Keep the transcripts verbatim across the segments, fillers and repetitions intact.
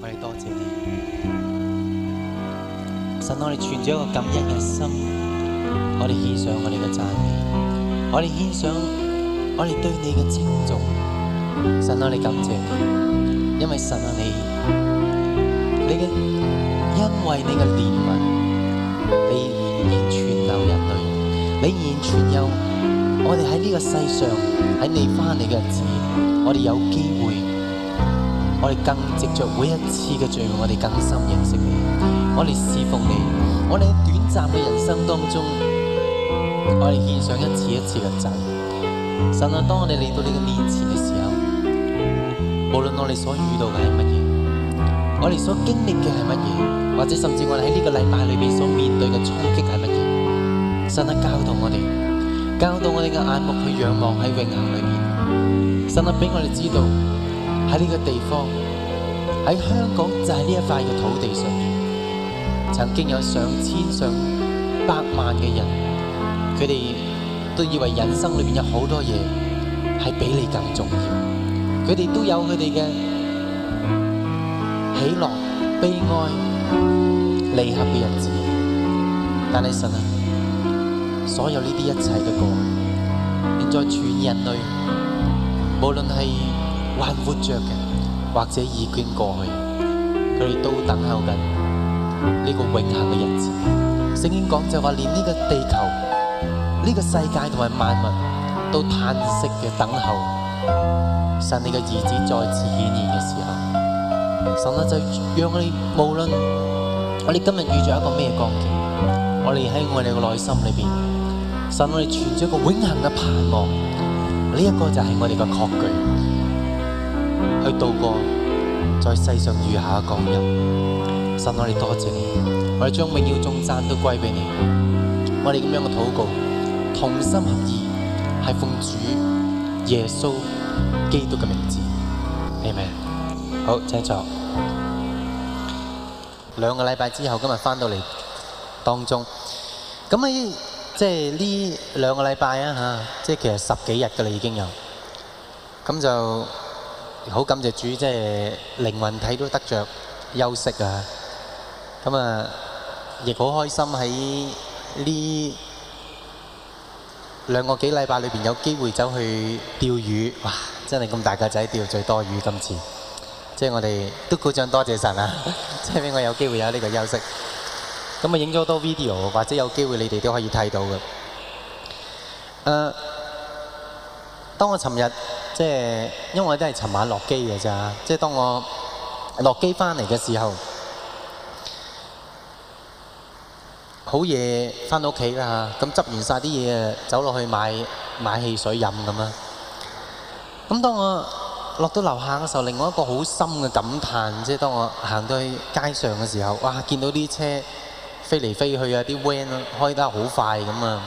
我哋多謝你，神，我哋存咗一個感恩嘅心，我哋獻上我哋嘅讚美，我哋獻上我哋對你嘅尊重。神，我哋感謝你，因為神啊，你你嘅因為你嘅憐憫，你仍然存留人類，你仍然存有我哋喺呢個世上，喺你翻嚟嘅日子，我哋有機會，我哋更藉着每一次嘅聚會，我哋更深認識你，我哋侍奉你，我哋喺短暫嘅人生當中，我哋獻上一次一次嘅祭。神啊，當我哋嚟到你嘅面前嘅時候，無論我哋所遇到嘅係乜嘢，我哋所經歷嘅係乜嘢，或者甚至我哋喺呢個禮拜裏邊所面對嘅衝擊係乜嘢，神啊，教導我哋，教導我哋嘅眼目去仰望喺永恆裏邊。神啊，俾我哋知道喺呢個地方，喺香港就係呢一塊嘅土地上面，曾經有上千上百萬嘅人，佢哋都以為人生裏邊有好多嘢係比你更重要，佢哋都有佢哋嘅喜樂、悲哀、離合嘅日子，但係神啊，所有呢啲一切都過去，現在全人類，無論係還活着嘅，或者已經過去，佢哋都等候緊呢個永恆嘅日子。聖經講就話，連呢個地球、呢個世界同埋萬物都嘆息嘅等候神你嘅兒子再次顯現嘅時候，神啊，就讓我哋無論我哋今日遇着一個咩光景，我哋喺我哋嘅內心裏邊，神我哋存咗一個永恆嘅盼望，呢一個就係我哋嘅確據，去度過在世上餘下嘅光陰。神我哋多謝你，我哋將榮耀頌讚都歸俾你。我哋咁樣嘅禱告，同心合意，係奉主耶穌基督嘅名字。阿們。好，請坐。兩個禮拜之後，今日翻到嚟當中，咁喺即係呢兩個禮拜啊嚇，即係其實十幾日㗎啦已經有，咁就好感謝主，即係靈魂體都得着休息啊，咁啊亦好開心喺呢兩個幾禮拜裏邊有機會走去釣魚，哇！真係咁大個仔釣最多魚今次。即係我哋都鼓掌多謝神啊！即係俾我有機會有呢個休息。咁啊影咗好多 video， 或者有機會你哋都可以睇到嘅。誒、呃，當我尋日即係因為我都係尋晚落機嘅咋，即係當我落機翻嚟嘅時候，好夜翻到屋企啦嚇，咁執完晒啲嘢，走落去買買汽水飲咁啦。咁當我落到樓下嘅時候，另外一個好深嘅感嘆，即係當我行到去街上嘅時候，哇！見到啲車飛嚟飛去啊，啲 van 開得好快咁啊！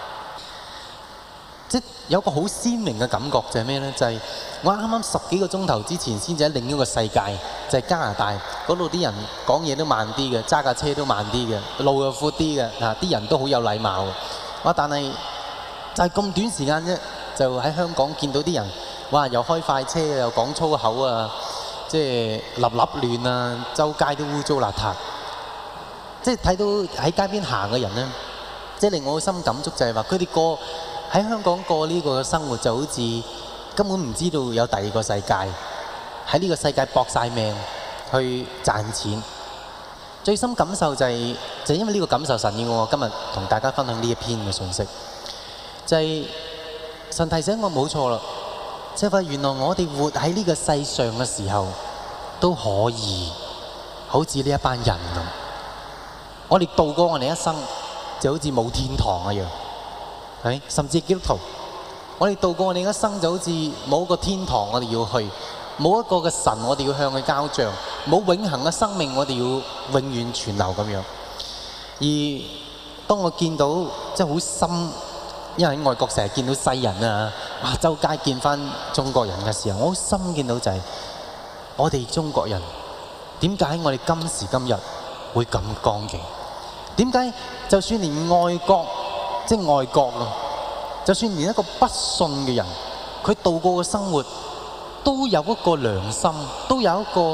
即係有個好鮮明嘅感覺就係咩呢？就係、是、我啱啱十幾個鐘頭之前先至喺另一個世界，就係、是、加拿大嗰度啲人講嘢都慢啲嘅，揸架車都慢啲嘅，路又闊啲嘅，嗱啲人都好有禮貌嘅。哇！但係就係咁短時間啫，就喺香港見到啲人。哇！又開快車，又講粗口啊！即係立立亂啊，周街都污糟邋遢。即係睇到喺街邊行嘅人咧，即係令我好深感觸就係話，佢哋過喺香港過呢個生活就好似根本唔知道有第二個世界，喺呢個世界搏晒命去賺錢。最深感受就係、是、就係、因為呢個感受，神要我今日同大家分享呢一篇嘅信息，就係、是、神提醒我冇錯啦。即係話，原來我哋活喺呢個世上嘅時候，都可以好似呢一班人咁。我哋度過我哋一生，就好似冇天堂一樣，係咪？甚至基督徒，我哋度過我哋一生，就好似冇一個天堂我哋要去，冇一個嘅神我哋要向佢交賬，冇永恆嘅生命我哋要永遠存留咁樣。而當我見到即係好深。因為喺外國成日見到西人啊，哇！周街見翻中國人嘅時候，我好深見到就係、是、我哋中國人點解我哋今時今日會咁光景？點解就算連外國即係外國咯，就算連一個不信嘅人，佢度過嘅生活都有一個良心，都有一個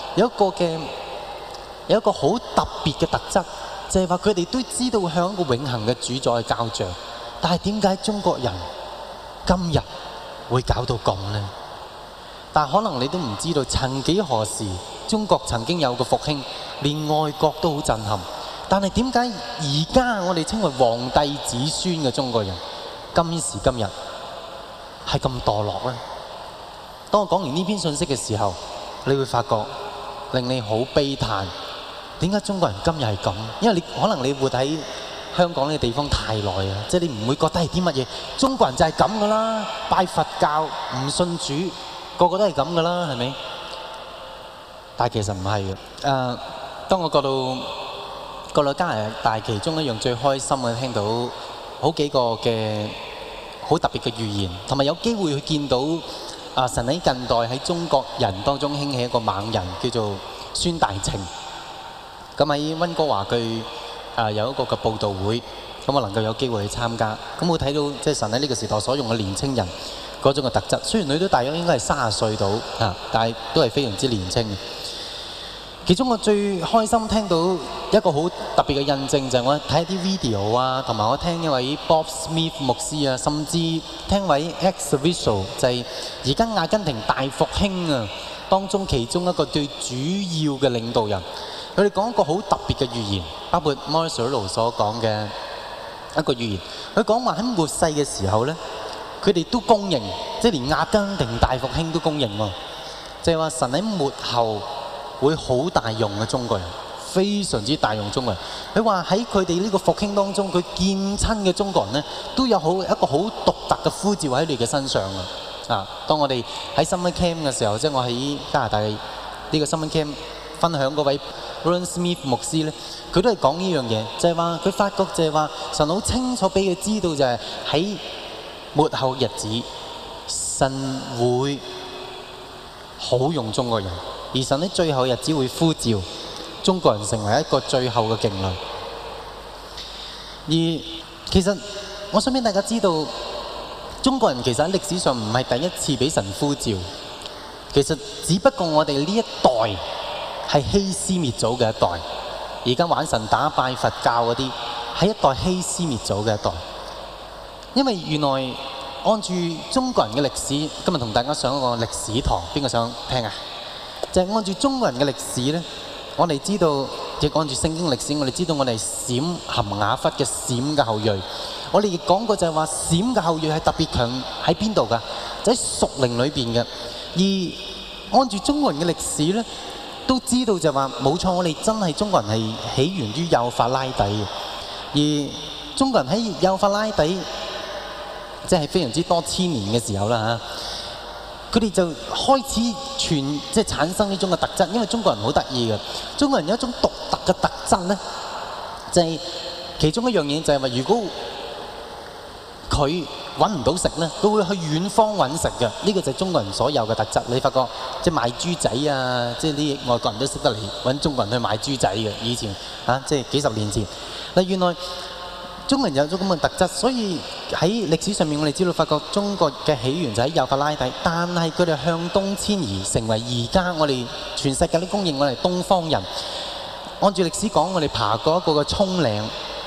有一個嘅有一個好特別嘅特質，就係話佢哋都知道向一個永恆嘅主宰交賬，但係點解中國人今日會搞到咁呢？但係可能你都唔知道，曾幾何時中國曾經有個復興，連外國都好震撼。但係點解而家我哋稱為皇帝子孫嘅中國人，今時今日係咁墮落呢？當我講完呢篇信息嘅時候，你會發覺令你好悲嘆。點解中國人今日係咁？因為你可能你活喺香港呢個地方太耐啊，即係你唔會覺得係啲乜嘢。中國人就係咁噶啦，拜佛教唔信主，個個都係咁噶啦，係咪？但係其實唔係嘅。誒、呃，當我過到過到加拿大，其中一樣最開心嘅，聽到好幾個嘅好特別嘅預言，同埋有機會去見到啊、呃、神喺近代喺中國人當中興起一個猛人，叫做孫大晴。咁喺溫哥華佢啊有一個嘅佈道會，咁我能夠有機會去參加。咁我睇到即係神喺呢個時代所用嘅年青人嗰種嘅特質。雖然佢都大約應該係三十歲到啊，但係都係非常之年輕。其中我最開心聽到一個好特別嘅印證，就係我睇啲 video 啊，同埋我聽一位 Bob Smith 牧師啊，甚至聽位 Ex Visual 就係而家阿根廷大復興啊當中其中一個最主要嘅領導人。佢哋講一個好特別嘅預言，包括 Morris Cerullo 所講嘅一個預言。佢講話喺末世嘅時候咧，佢哋都公認，即係連阿根廷大復興都公認喎，就係話神喺末後會好大用嘅中國人，非常之大用中國人。佢話喺佢哋呢個復興當中，佢見親嘅中國人咧，都有好一個好獨特嘅呼召喺你嘅身上啊！啊，當我哋喺 Summer Camp 嘅時候，即係我喺加拿大呢個 Summer Camp 分享嗰位 Ron Smith 牧師咧，佢都係講呢樣嘢，就係話佢發覺就係話神好清楚俾佢知道，就係喺末後日子，神會好用中國人，而神喺最後日子會呼召中國人成為一個最後嘅勁旅。而其實我想俾大家知道，中國人其實喺歷史上唔係第一次俾神呼召，其實只不過我哋呢一代係欺師滅祖嘅一代，而家玩神打拜佛教嗰啲係一代欺師滅祖嘅一代。因為原來按住中國人嘅歷史，今日同大家上一個歷史堂，邊個想聽啊？就係按住中國人嘅歷史咧，我哋知道，亦按住聖經歷史，我哋知道我哋係閃含雅弗嘅閃嘅後裔。我哋亦講過就係話閃嘅後裔係特別強喺邊度㗎？就喺屬靈裏邊嘅。而按住中國人嘅歷史咧，都知道就話冇錯，我哋真係中國人係起源於幼發拉底嘅。而中國人喺幼發拉底，即係非常之多千年嘅時候啦嚇，佢哋就開始傳即係產生呢種嘅特質。因為中國人好得意嘅，中國人有一種獨特嘅特質咧，就係其中一樣嘢就係話，如果佢揾唔到食咧，佢會去遠方揾食嘅。呢個就係中國人所有嘅特質。你發覺即係賣豬仔啊，即係啲外國人都識得嚟揾中國人去買豬仔嘅。以前啊，即係幾十年前嗱，原來中國人有咗咁嘅特質，所以喺歷史上面我哋知道，發覺中國嘅起源就喺幼發拉底，但係佢哋向東遷移，成為而家我哋全世界都公認我哋東方人。按住歷史講，我哋爬過一個嘅葱嶺，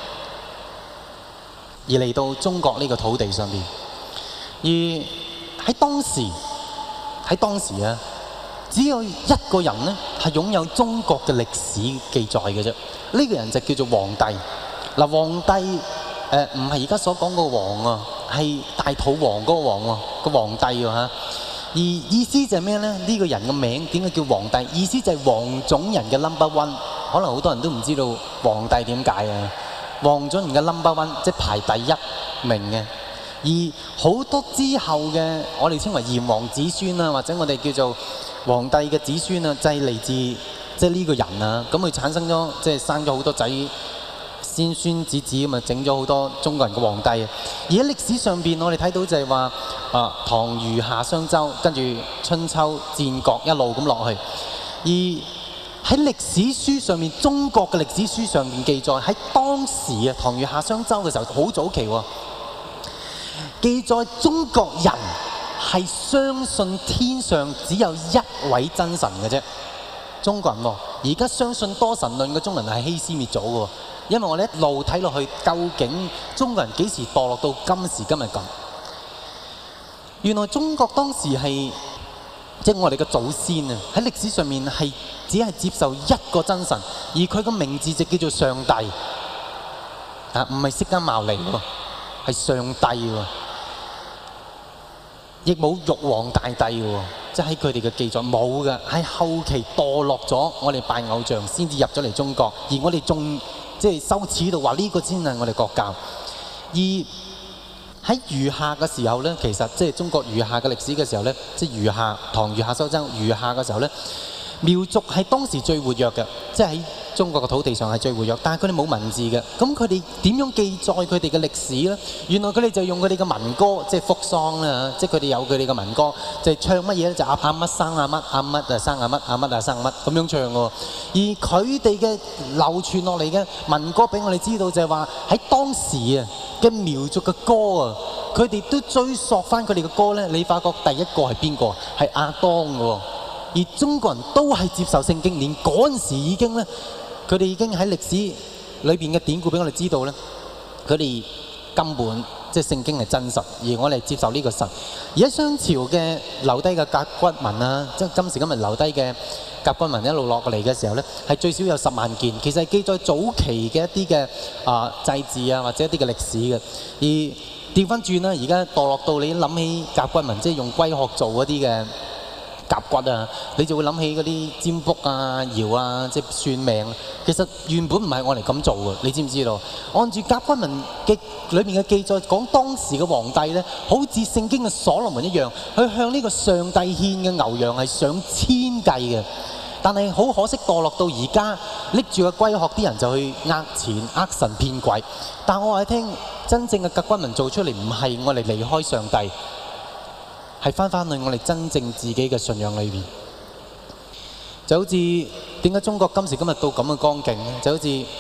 而嚟到中國呢個土地上邊。而喺當時喺當時啊，只有一個人咧係擁有中國嘅歷史記載嘅啫。呢個人就叫做皇帝。嗱，皇帝誒唔係而家所講個王啊，係大肚王嗰個王喎，個皇帝喎嚇。而意思就係咩咧？呢個人嘅名點解叫皇帝？意思就係黃種人嘅 number one。可能好多人都唔知道皇帝點解啊？黃種人嘅 number one 即係排第一名嘅。而好多之後嘅我哋稱為炎黃子孫啊，或者我哋叫做皇帝嘅子孫啊，就係嚟自即係呢個人啊。咁佢產生咗即係生咗好多仔。先孫子子咁啊，整咗好多中國人嘅皇帝。而喺歷史上邊，我哋睇到就係話啊，唐虞夏商周，跟住春秋戰國一路咁落去。而喺歷史書上面，中國嘅歷史書上面記載喺當時啊，唐虞夏商周嘅時候好早期喎，記載中國人係相信天上只有一位真神嘅啫。 中國人喎，而家相信多神論嘅中國人係欺師滅祖嘅喎，因為我哋一路睇落去，究竟中國人幾時墮落到今時今日咁？原來中國當時係即係我哋嘅祖先啊，喺歷史上面係只係接受一個真神，而佢個名字就叫做上帝啊，唔係釋迦牟尼喎，係上帝喎，亦冇玉皇大帝喎，即係喺佢哋嘅記載冇嘅，喺後期墮落咗，我哋拜偶像先至入咗嚟中國，而我哋仲即係羞恥到話呢個先係我哋國教，而喺餘下嘅時候咧，其實即係中國餘下嘅歷史嘅時候咧，即係餘下唐餘下蘇州餘下嘅時候咧，苗族係當時最活躍嘅，即係喺中國嘅土地上係最活躍，但係佢哋冇文字嘅，咁佢哋點樣記載佢哋嘅歷史咧？原來佢哋就用佢哋嘅民歌，即係福喪啦，即係佢哋有佢哋嘅民歌，就係唱乜嘢咧？就阿阿乜生阿乜，阿乜啊生阿乜，阿乜啊生乜咁樣唱喎。而佢哋嘅流傳落嚟嘅民歌，俾我哋知道就係話喺當時啊嘅苗族嘅歌啊，佢哋都追溯翻佢哋嘅歌咧。你發覺第一個係邊個？係亞當嘅喎。而中國人都係接受聖經，連嗰陣時已經咧，佢哋已經喺歷史裏邊嘅典故俾我哋知道咧，佢哋根本即係聖經係真實，而我哋接受呢個神。而喺商朝嘅留低嘅甲骨文啊，即係今時今日留低嘅甲骨文一路落嚟嘅時候咧，係最少有十萬件，其實係記載早期嘅一啲嘅啊祭祀啊或者一啲嘅歷史嘅。而調翻轉啦，而家墮落到你諗起甲骨文，即係用龜殼做嗰啲嘅甲骨啊，你就會諗起嗰啲占卜啊、爻啊，即係算命。其實原本唔係我哋咁做嘅，你知唔知道？按住甲骨文嘅裏面嘅記載，講當時嘅皇帝咧，好似聖經嘅所羅門一樣，去向呢個上帝獻嘅牛羊係上千計嘅。但係好可惜，墮落到而家拎住個龜殼啲人就去呃錢、呃神騙鬼。但我話你聽，真正嘅甲骨文做出嚟唔係我哋離開上帝。係翻返去我哋真正自己嘅信仰裏邊，就好似點解中國今時今日到咁嘅光景咧？就好似譬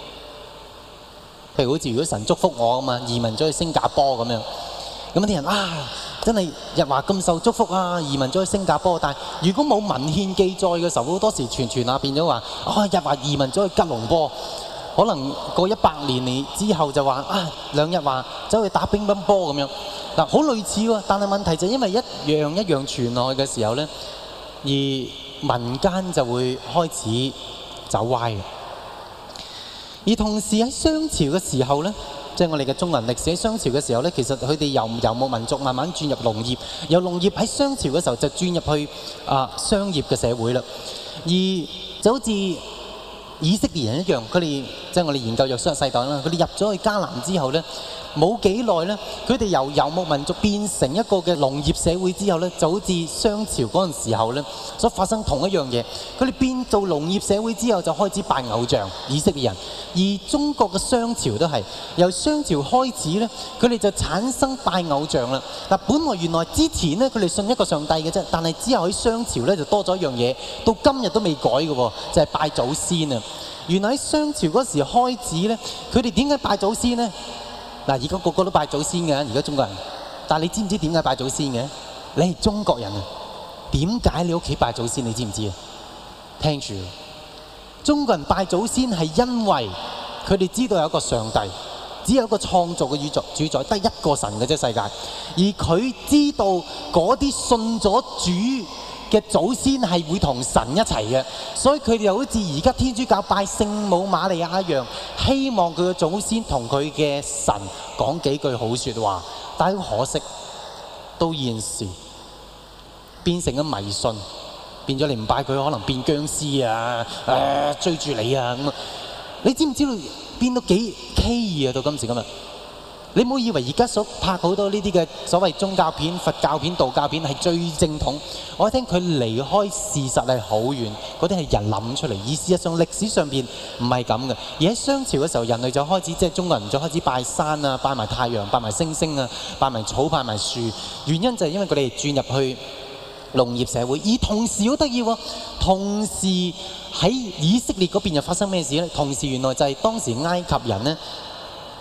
如好似如果神祝福我啊嘛，移民咗去新加坡咁樣，咁啲人啊真係日華咁受祝福啊，移民咗去新加坡。但係如果冇文獻記載嘅時候，好多時傳傳下變咗話啊日華移民咗去吉隆坡。可能過一百年之後就話啊，兩日話走去打乒乓波咁樣嗱，好類似喎。但係問題就係因為一樣一樣傳落去嘅時候咧，而民間就會開始走歪嘅。而同時喺商朝嘅時候咧，即係我哋嘅中國人歷史喺商朝嘅時候咧，其實佢哋由遊牧民族慢慢轉入農業，由農業喺商朝嘅時候就轉入去啊商業嘅社會啦，而就好似以色列人一樣，佢哋即係我哋研究約書亞世代啦。佢哋入咗去迦南之後咧，冇幾耐咧，佢哋由遊牧民族變成一個嘅農業社會之後咧，就好似商朝嗰陣時候咧，所發生同一樣嘢。佢哋變做農業社會之後，就開始拜偶像。以色列人，而中國嘅商朝都係由商朝開始咧，佢哋就產生拜偶像啦。嗱，本來原來之前咧，佢哋信一個上帝嘅啫，但係之後喺商朝咧就多咗一樣嘢，到今日都未改嘅喎，就係拜祖先啊！原來喺商朝嗰時開始咧，佢哋點解拜祖先咧？嗱，而家個個都拜祖先嘅，而家中國人。但係你知唔知點解拜祖先嘅？你係中國人啊，點解你屋企拜祖先？你知唔知啊？聽住，中國人拜祖先係因為佢哋知道有一個上帝，只有一個創造嘅宇宙主宰，得一個神嘅啫世界。而佢知道嗰啲信咗主嘅祖先係會同神一齊嘅，所以佢哋又好似而家天主教拜聖母瑪利亞一樣，希望佢嘅祖先同佢嘅神講幾句好説話。但係好可惜，到現時變成咗迷信，變咗你唔拜佢，可能變僵屍啊，誒、呃、追住你啊咁啊！你知唔知道變到幾畸異啊？到今時今日。你唔好以為而家所拍好多呢啲嘅所謂宗教片、佛教片、道教片係最正統。我聽佢離開事實係好遠，嗰啲係人諗出嚟。而事實上歷史上邊唔係咁嘅。而喺商朝嘅時候，人類就開始即係中國人就開始拜山啊、拜埋太陽、拜埋星星啊、拜埋草、拜埋樹。原因就係因為佢哋轉入去農業社會。而同時好得意喎，同時喺以色列嗰邊又發生咩事咧？同時原來就係當時埃及人咧。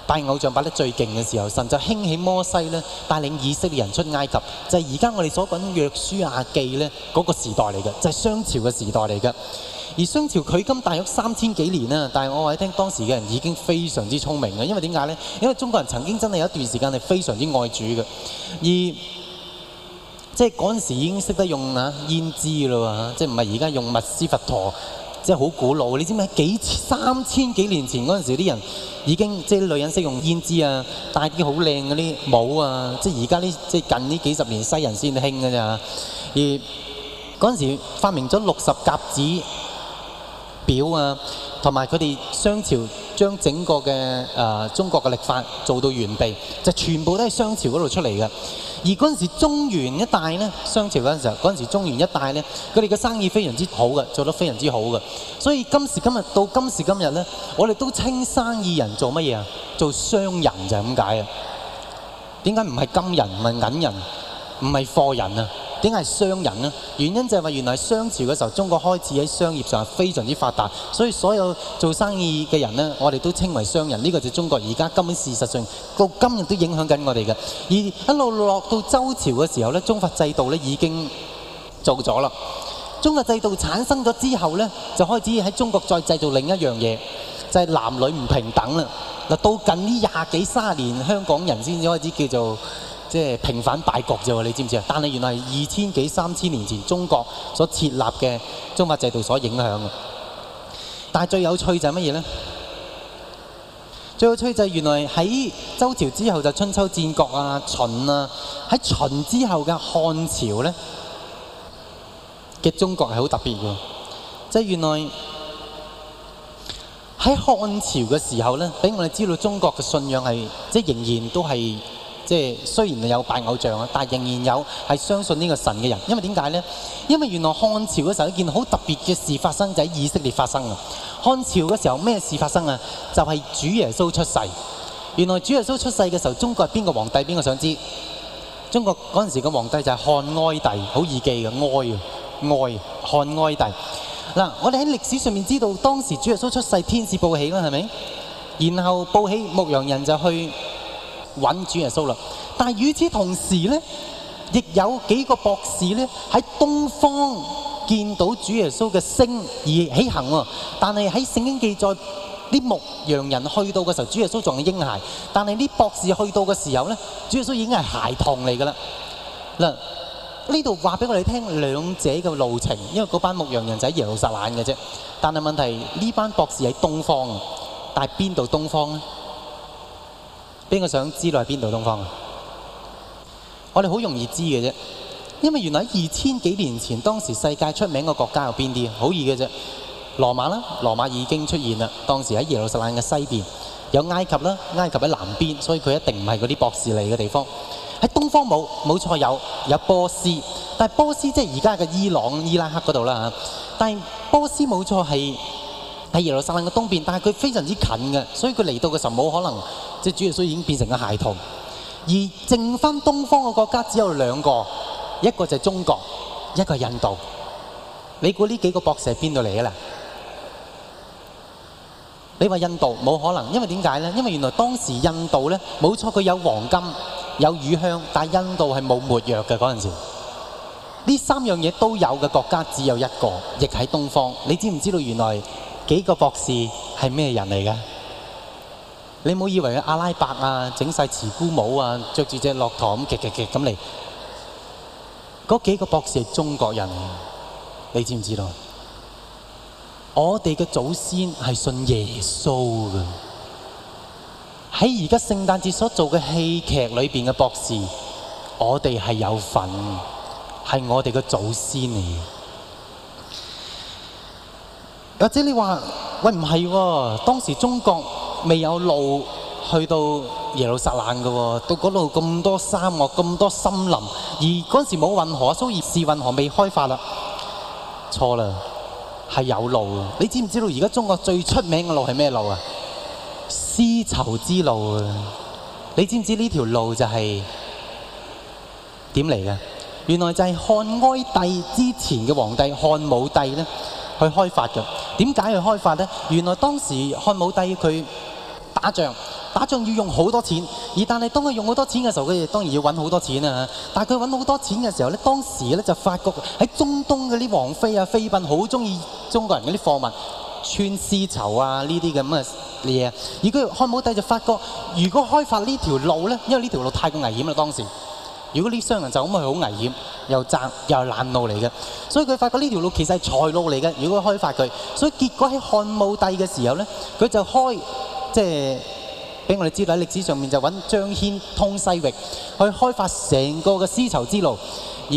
拜偶像拜得最勁嘅時候，神就興起摩西咧，帶領以色列人出埃及，就係而家我哋所講約書亞記咧嗰個時代嚟嘅，就係商朝嘅時代嚟嘅。而商朝距今大約三千幾年啦，但係我話你聽，當時嘅人已經非常之聰明嘅，因為點解呢？因為中國人曾經真係有一段時間係非常之愛主嘅，而即係嗰陣時已經識得用啊胭脂啦，即係唔係而家用密斯佛陀，即係好古老。你知唔知幾三千幾年前嗰陣時啲人已經即係女人識用胭脂啊，戴啲好靚嗰啲帽啊，即係而家呢即係近呢幾十年西人先興嘅咋。而嗰陣時發明咗六十甲子表啊，同埋佢哋商朝將整個嘅誒、呃、中國嘅曆法做到完備，就全部都係商朝嗰度出嚟嘅。而嗰陣時中原一帶呢，商朝嗰陣時候，嗰陣時中原一帶呢，佢哋嘅生意非常之好嘅，做得非常之好嘅。所以今時今日到今時今日呢，我哋都稱生意人做乜嘢啊？做商人就係咁解啊。點解唔係金人，唔係銀人，唔係貨人啊？點解係商人呢？原因就係話原來商朝嘅時候，中國開始喺商業上係非常之發達，所以所有做生意嘅人呢，我哋都稱為商人。呢個就係中國而家根本事實上到今日都影響緊我哋嘅。而一路落到周朝嘅時候呢，宗法制度呢已經做咗啦。宗法制度產生咗之後呢，就開始喺中國再製造另一樣嘢，就係男女唔平等啦。嗱，到近呢廿幾三十年，香港人先至開始叫做即係平反敗局啫喎，你知唔知啊？但係原來係二千幾三千年前中國所設立嘅宗法制度所影響嘅。但係最有趣就係乜嘢呢？最有趣就係原來喺周朝之後就春秋戰國啊、秦啊，喺秦之後嘅漢朝呢嘅中國係好特別嘅，即係原來喺漢朝嘅時候呢，俾我哋知道中國嘅信仰係即係仍然都係。即係雖然有拜偶像啊，但係仍然有係相信呢個神嘅人。因為點解呢？因為原來漢朝嘅時候一件好特別嘅事發生，就喺以色列發生啊！漢朝嘅時候咩事發生啊？就係主耶穌出世。原來主耶穌出世嘅時候，中國係邊個皇帝？邊個想知？中國嗰陣時嘅皇帝就係漢哀帝，好易記嘅哀啊哀漢哀帝。嗱，我哋喺歷史上面知道，當時主耶穌出世，天使報喜啦，係咪？然後報喜，牧羊人就去揾主耶穌啦，但係與此同時呢，亦有幾個博士呢喺東方見到主耶穌嘅星而起行喎。但係喺聖經記載，啲牧羊人去到嘅時候，主耶穌仲係嬰孩；但係啲博士去到嘅時候呢，主耶穌已經係孩童嚟㗎啦。嗱，呢度話俾我哋聽兩者嘅路程，因為嗰班牧羊人就喺耶路撒冷嘅啫。但係問題呢班博士喺東方，但係邊度東方呢？邊個想知道係邊度東方啊？我哋好容易知嘅啫，因為原來喺二千幾年前，當時世界出名嘅國家有邊啲？好易嘅啫，羅馬啦，羅馬已經出現啦。當時喺耶路撒冷嘅西邊，有埃及啦，埃及喺南邊，所以佢一定唔係嗰啲博士嚟嘅地方。喺東方冇，冇錯有有波斯，但係波斯即係而家嘅伊朗、伊拉克嗰度啦嚇。但係波斯冇錯係喺耶路撒冷嘅東邊，但係佢非常之近嘅，所以佢嚟到嘅時候冇可能。即係主耶穌已經變成個孩童，而剩翻東方嘅國家只有兩個，一個就係中國，一個係印度。你估呢幾個博士係邊度嚟嘅啦？你話印度冇可能，因為點解呢？因為原來當時印度呢，冇錯佢有黃金、有乳香，但係印度係冇沒藥嘅嗰陣時。呢三樣嘢都有嘅國家只有一個，亦喺東方。你知唔知道原來幾個博士係咩人嚟嘅？你唔好以為阿拉伯啊，整晒慈姑帽啊，着住隻駱駝咁極極極咁嚟。嗰幾個博士係中國人，你知唔知道？我哋嘅祖先係信耶穌嘅。喺而家聖誕節所做嘅戲劇裏邊嘅博士，我哋係有份，係我哋嘅祖先嚟。或者你話喂唔係喎，當時中國未有路去到耶路撒冷嘅喎，到嗰度咁多沙漠、咁多森林，而嗰陣時冇運河，蘇伊士運河未開發啦。錯啦，係有路嘅。你知唔知道而家中國最出名嘅路係咩路啊？絲綢之路啊！你知唔知呢條路就係點嚟嘅？原來就係漢哀帝之前嘅皇帝漢武帝咧去開發嘅。點解去開發呢？原來當時漢武帝佢打仗， 打仗要用好多錢，而但係當佢用好多錢嘅時候，佢哋當然要揾好多錢啊。但係佢揾好多錢嘅時候咧，當時咧就發覺喺中東嗰啲王妃啊、妃嬪好中意中國人嗰啲貨物，穿絲綢啊呢啲咁嘅嘢。而佢漢武帝就發覺，如果開發呢條路咧，因為呢條路太過危險啦當時。如果呢商人就咁去好危險，又窄又係爛路嚟嘅，所以佢發覺呢條路其實係財路嚟嘅。如果開發佢，所以結果喺漢武帝嘅時候咧，佢就開即係俾我哋知道喺歷史上面就揾張騫通西域，去開發成個嘅絲綢之路。而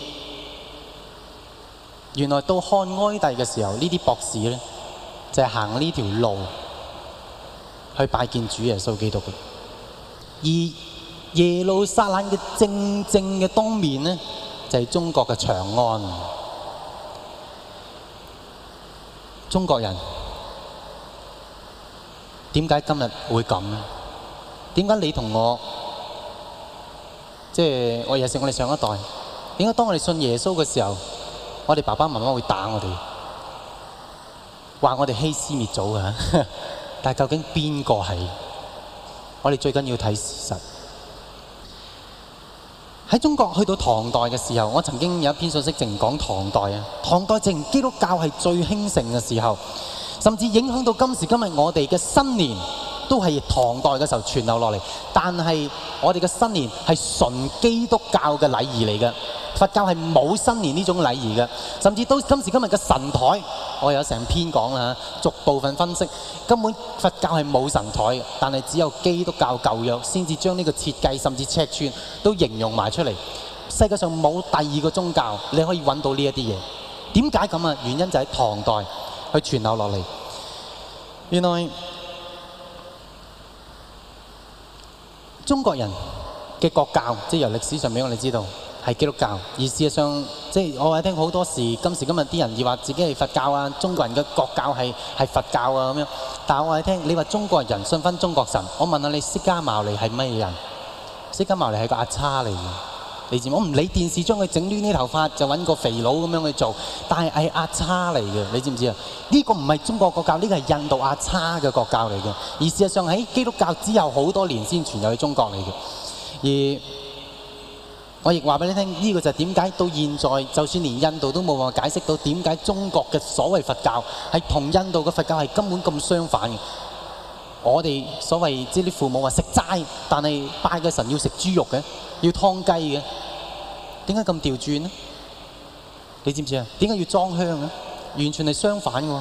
原來到漢哀帝嘅時候，呢啲博士咧就係行呢條路去拜見主耶穌基督嘅。而耶路撒冷嘅正正嘅東面呢，就係中國嘅長安。中國人點解今日會咁呢？點解你同我，即係我尤其是我哋上一代，點解當我哋信耶穌嘅時候，我哋爸爸媽媽會打我哋，話我哋欺師滅祖嘅？但係究竟邊個係？我哋最緊要睇事實。喺中國去到唐代嘅時候，我曾經有一篇信息淨講唐代啊。唐代淨基督教係最興盛嘅時候，甚至影響到今時今日我哋嘅新年都係唐代嘅時候傳流落嚟。但係我哋嘅新年係純基督教嘅禮儀嚟嘅，佛教係冇新年呢種禮儀嘅。甚至到今時今日嘅神台，我有成篇講啦，逐部分分析，根本佛教係冇神台嘅，但係只有基督教舊約先至將呢個設計甚至尺寸都形容埋出嚟。世界上冇第二個宗教你可以揾到呢一啲嘢。點解咁啊？原因就喺唐代去傳流落嚟。原來中國人嘅國教，即係由歷史上俾我哋知道係基督教，而事實上，即係我話聽好多時，今時今日啲人要話自己係佛教啊，中國人嘅國教係係佛教啊咁樣。但係我話聽，你話中國人信翻中國神，我問下你，釋迦牟尼係乜人？釋迦牟尼係個阿叉嚟嘅，你知唔知？我唔理電視將佢整亂啲頭髮，就揾個肥佬咁樣去做，但係係阿叉嚟嘅，你知唔知啊？呢個唔係中國國教，呢個係印度阿叉嘅國教嚟嘅。而事實上喺基督教之後好多年先傳入去中國嚟嘅。而我亦話俾你聽，呢個就係點解到現在，就算連印度都冇辦法解釋到點解中國嘅所謂佛教係同印度嘅佛教係根本咁相反嘅。我哋所謂即係啲父母話食齋，但係拜嘅神要食豬肉嘅，要劏雞嘅，點解咁調轉呢？你知唔知啊？點解要裝香啊？完全係相反嘅喎。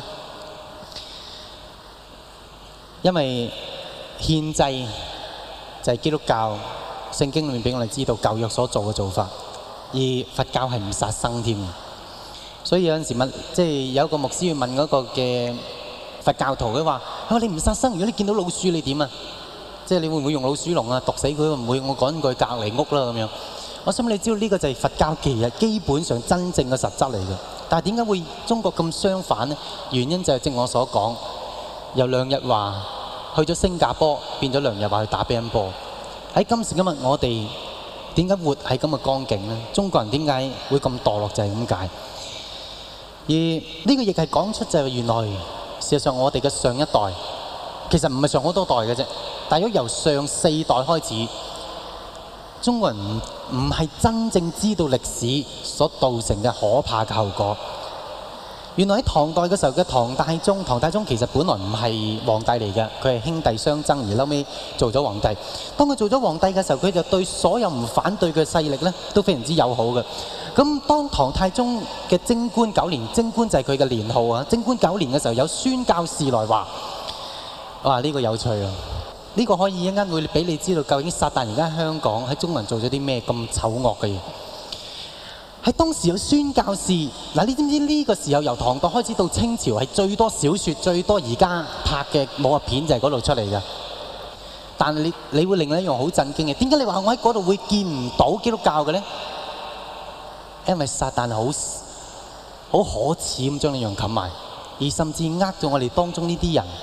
因為獻祭就係基督教聖經裏面俾我哋知道舊約所做嘅做法，而佛教係唔殺生添。所以有陣時問，即係有一個牧師要問嗰個嘅佛教徒，佢話：啊，你唔殺生，如果你見到老鼠，你點啊？即係你會唔會用老鼠籠啊毒死佢？唔會，我趕佢隔離屋啦咁樣。我想你知道呢個就係佛教其實基本上真正嘅實質嚟嘅。但係點解會中國咁相反呢？原因就係正我所講，由梁日華去咗新加坡，變咗梁日華去打乒乓波。喺今時今日，我哋點解活喺咁嘅光景呢？中國人點解會咁墮落就係咁解。而呢個亦係講出就係原來事實上我哋嘅上一代其實唔係上好多代嘅啫，但係如果由上四代開始，中國人唔唔係真正知道歷史所造成嘅可怕嘅後果。原來喺唐代嘅時候嘅唐太宗，唐太宗其實本來唔係皇帝嚟嘅，佢係兄弟相爭而後尾做咗皇帝。當佢做咗皇帝嘅時候，佢就對所有唔反對嘅勢力咧都非常之友好嘅。咁當唐太宗嘅貞觀九年，貞觀就係佢嘅年號啊。貞觀九年嘅時候，有宣教士來話：哇，呢個有趣啊！呢個可以一陣間會俾你知道究竟撒旦而家喺香港喺中國人做咗啲咩咁醜惡嘅嘢。喺當時有宣教士嗱，你知唔知呢個時候由唐代開始到清朝係最多小説、最多而家拍嘅武俠片就係嗰度出嚟嘅。但係你你會令你一樣好震驚嘅，點解你話我喺嗰度會見唔到基督教嘅咧？因為撒旦好好可恥咁將呢樣冚埋，而甚至呃咗我哋當中呢啲人，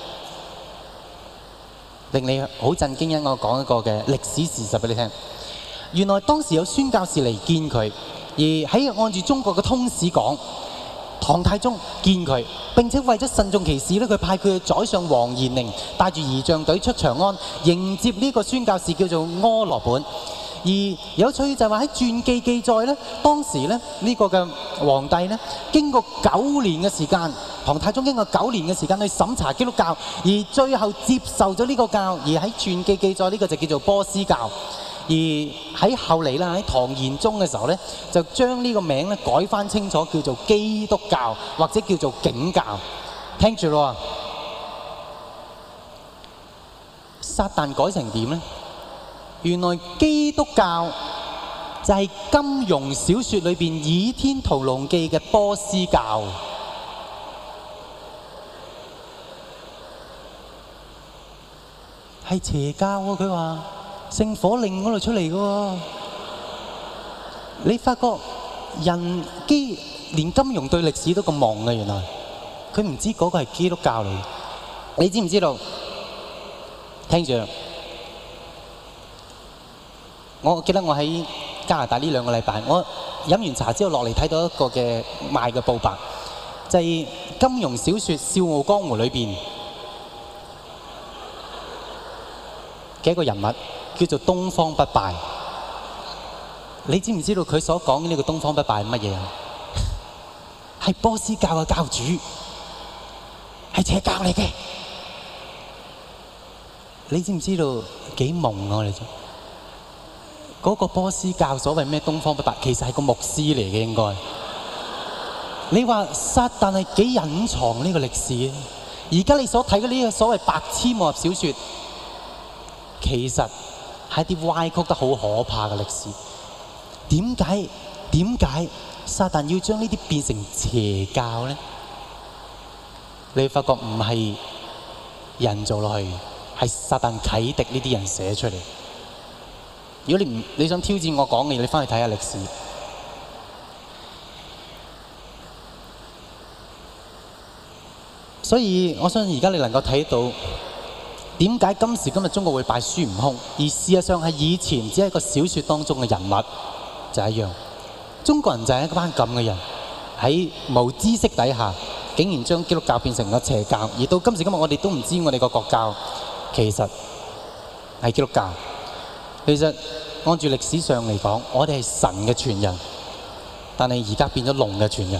令你好震驚。因我講一個嘅歷史事實俾你聽，原來當時有宣教士嚟見佢。而喺按住中國嘅通史講， 唐太宗見佢，並且為咗慎重其事咧，佢派佢嘅宰相黃延寧帶住儀仗隊出長安迎接呢個宣教士叫做柯羅本。而有趣就係話喺傳記記載咧，當時咧呢個嘅皇帝咧經過九年嘅時間，唐太宗經過九年嘅時間去審查基督教，而最後接受咗呢個教，而喺傳記記載呢個就叫做波斯教。而喺後嚟啦，喺唐玄宗嘅時候咧，就將呢個名咧改翻清楚，叫做基督教或者叫做景教。聽住咯，撒旦改成點咧？原來基督教就係金庸小説裏邊《倚天屠龍記》嘅波斯教，係邪教喎。佢話聖火令嗰度出嚟嘅喎，你發覺人基連金庸對歷史都咁懵嘅，原來佢唔知嗰個係基督教嚟。你知唔知道？聽住。我記得我喺加拿大呢兩個禮拜，我飲完茶之後落嚟睇到一個嘅賣嘅報白，就係金庸小説《笑傲江湖》裏邊嘅一個人物，叫做東方不敗。你知唔知道佢所講嘅呢個東方不敗係乜嘢啊？係波斯教嘅教主，係邪教嚟嘅。你知唔知道幾懵啊？我哋就嗰個波斯教所謂咩東方不敗，其實係個牧師嚟嘅應該。你話撒旦係幾隱藏呢個歷史啊？而家你所睇嘅呢個所謂白痴武俠小説，其實係啲歪曲得好可怕嘅歷史。點解點解撒旦要將呢啲變成邪教咧？你會發覺唔係人做落去，係撒旦啟迪呢啲人寫出嚟。如果你唔你想挑戰我講嘅嘢，你翻去睇下歷史。所以我相信而家你能夠睇到點解今時今日中國會拜孫悟空，而事實上係以前只係一個小説當中嘅人物就係一樣。中國人就係一班咁嘅人，喺無知識底下，竟然將基督教變成咗邪教，而到今時今日我哋都唔知我哋個國教其實係基督教。其實按住歷史上嚟講，我哋係神嘅傳人，但係而家變咗龍嘅傳人。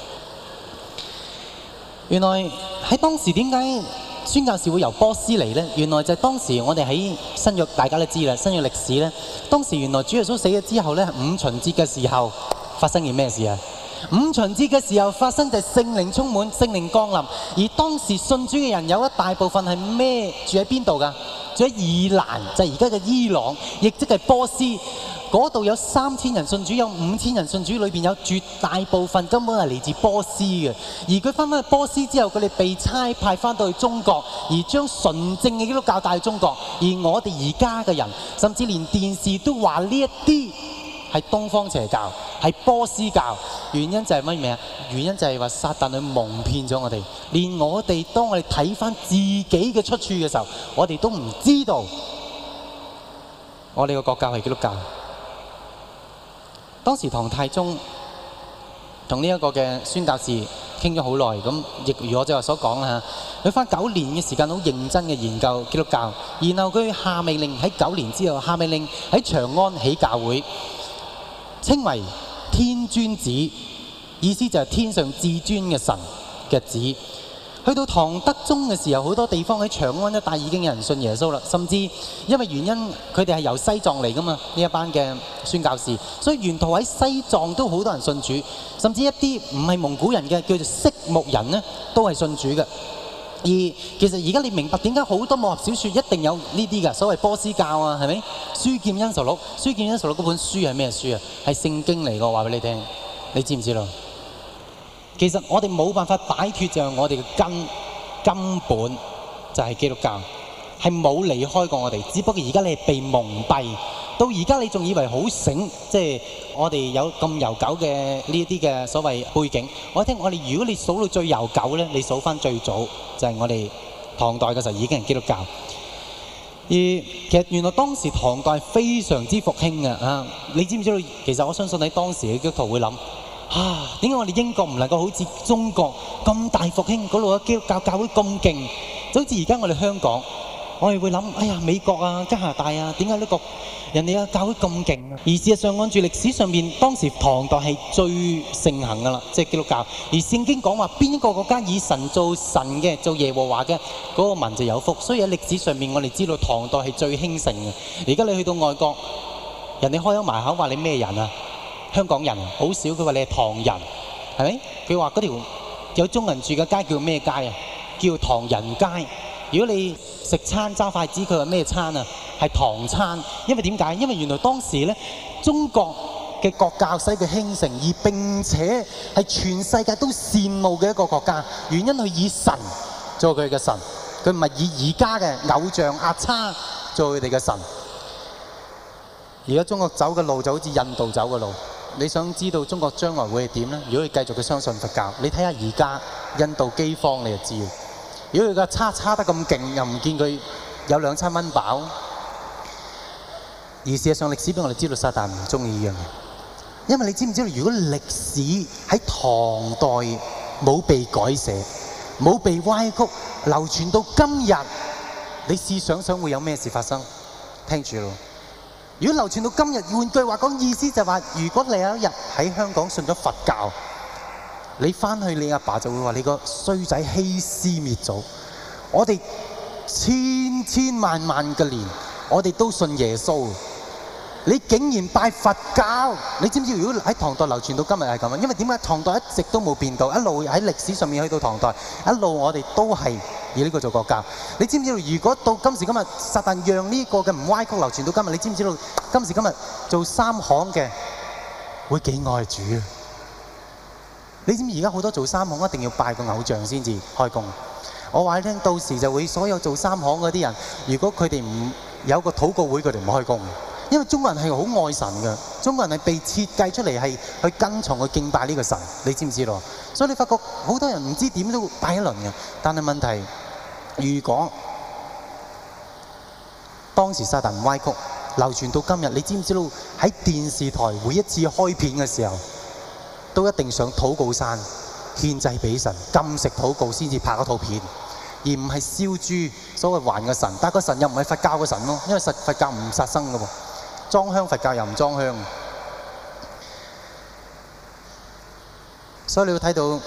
原來喺當時點解宣教士會由波斯嚟呢？原來就係當時我哋喺新約，大家都知啦，新約歷史呢，當時原來主耶穌死咗之後呢，五旬節嘅時候發生件咩事啊？五旬節嘅時候發生就係聖靈充滿，聖靈降臨，而當時信主嘅人有一大部分係咩？住喺邊度㗎？住喺以蘭，就係而家嘅伊朗，亦即係波斯。嗰度有三千人信主，有五千人信主，裏邊有絕大部分根本係嚟自波斯嘅。而佢翻返去波斯之後，佢哋被差派翻到去中國，而將純正嘅基督教帶去中國。而我哋而家嘅人，甚至連電視都話呢一啲係東方邪教，係波斯教。原因就係乜嘢啊？原因就係話撒旦去蒙騙咗我哋，連我哋當我哋睇翻自己嘅出處嘅時候，我哋都唔知道我哋個國教係基督教。當時唐太宗同呢一個嘅宣教士傾咗好耐，咁亦如我正話所講啦，佢花九年嘅時間好認真嘅研究基督教，然後佢下命令喺九年之後下命令喺長安起教會，稱為天尊子，意思就係天上至尊嘅神嘅子。去到唐德宗嘅時候，好多地方喺長安一帶已經有人信耶穌啦，甚至因為原因佢哋係由西藏嚟噶嘛，呢一班嘅宣教士，所以沿途喺西藏都好多人信主，甚至一啲唔係蒙古人嘅叫做色目人呢，都係信主嘅。而其實而家你明白點解好多武俠小説一定有呢啲㗎，所謂波斯教啊，係咪？書劍恩仇錄，書劍恩仇錄嗰本書係咩書啊？係聖經嚟㗎，話俾你聽，你知唔知道？其實我哋冇辦法擺脫就係我哋嘅根根本就係基督教，係冇離開過我哋。只不過而家你係被蒙蔽，到而家你仲以為好醒，即係我哋有咁悠久嘅呢一啲嘅所謂背景。我聽我哋如果你數到最悠久咧，你數翻最早就係我哋唐代嘅時候已經係基督教。而其實原來當時唐代非常之復興嘅啊！你知唔知道？其實我相信喺當時嘅基督徒會諗。 啊，點解我哋英國唔能夠好似中國咁大復興，嗰度嘅基督教教會咁勁？就好似而家我哋香港，我哋會諗，哎呀，美國啊、加拿大啊，點解呢個人哋嘅教會咁勁啊？而事實上，按住歷史上面，當時唐代係最盛行噶啦，即係基督教。而聖經講話，邊一個國家以神做神嘅，做耶和華嘅，嗰個民就有福。所以喺歷史上面，我哋知道唐代係最興盛嘅。而家你去到外國，人哋開咗埋口話你咩人啊？香港人好少，佢話你係唐人，係咪？佢話嗰條有中人住嘅街叫咩街啊？叫唐人街。如果你食餐揸筷子，佢話咩餐啊？係唐餐。因為點解？因為原來當時呢，中國嘅國教使佢興盛，而並且係全世界都羨慕嘅一個國家。原因佢以神做佢嘅神，佢唔係以而家嘅偶像阿叉做佢哋嘅神。而家中國走嘅路就好似印度走嘅路。你想知道中國將來會係點呢？如果佢繼續佢相信佛教，你睇下而家印度饑荒，你就知。如果佢個叉叉得咁勁，又唔見佢有兩餐蚊飽。而事實上歷史俾我哋知道，撒旦唔中意呢樣嘢。因為你知唔知道，如果歷史喺唐代冇被改寫、冇被歪曲，流傳到今日，你試想想會有咩事發生？聽住咯。如果流傳到今日，換句話講，意思就係話，如果你有一日喺香港信咗佛教，你翻去你阿爸就會話你個衰仔欺師滅祖。我哋千千萬萬嘅年，我哋都信耶穌。你竟然拜佛教，你知唔知？如果喺唐代流傳到今日係咁啊？因為點解唐代一直都冇變到，一路喺歷史上面去到唐代，一路我哋都係以呢個做國教。你知唔知道？如果到今時今日，撒旦讓呢個嘅唔歪曲流傳到今日，你知唔知道？今時今日做三行嘅會幾愛主啊？你知唔知而家好多做三行一定要拜個偶像先至開工？我話你聽，到時就會所有做三行嗰啲人，如果佢哋唔有個禱告會，佢哋唔開工。因為中國人係好愛神嘅，中國人係被設計出嚟係去跟從去敬拜呢個神，你知唔知道？所以你發覺好多人唔知點都拜一輪嘅，但係問題，如果當時撒旦唔歪曲流傳到今日，你知唔知道喺電視台每一次開片嘅時候，都一定上禱告山獻祭俾神，禁食禱告先至拍嗰套片，而唔係燒豬所謂還個神，但係個神又唔係佛教嘅神咯，因為佛教唔殺生嘅喎。裝香佛教又唔裝香，所以你會睇到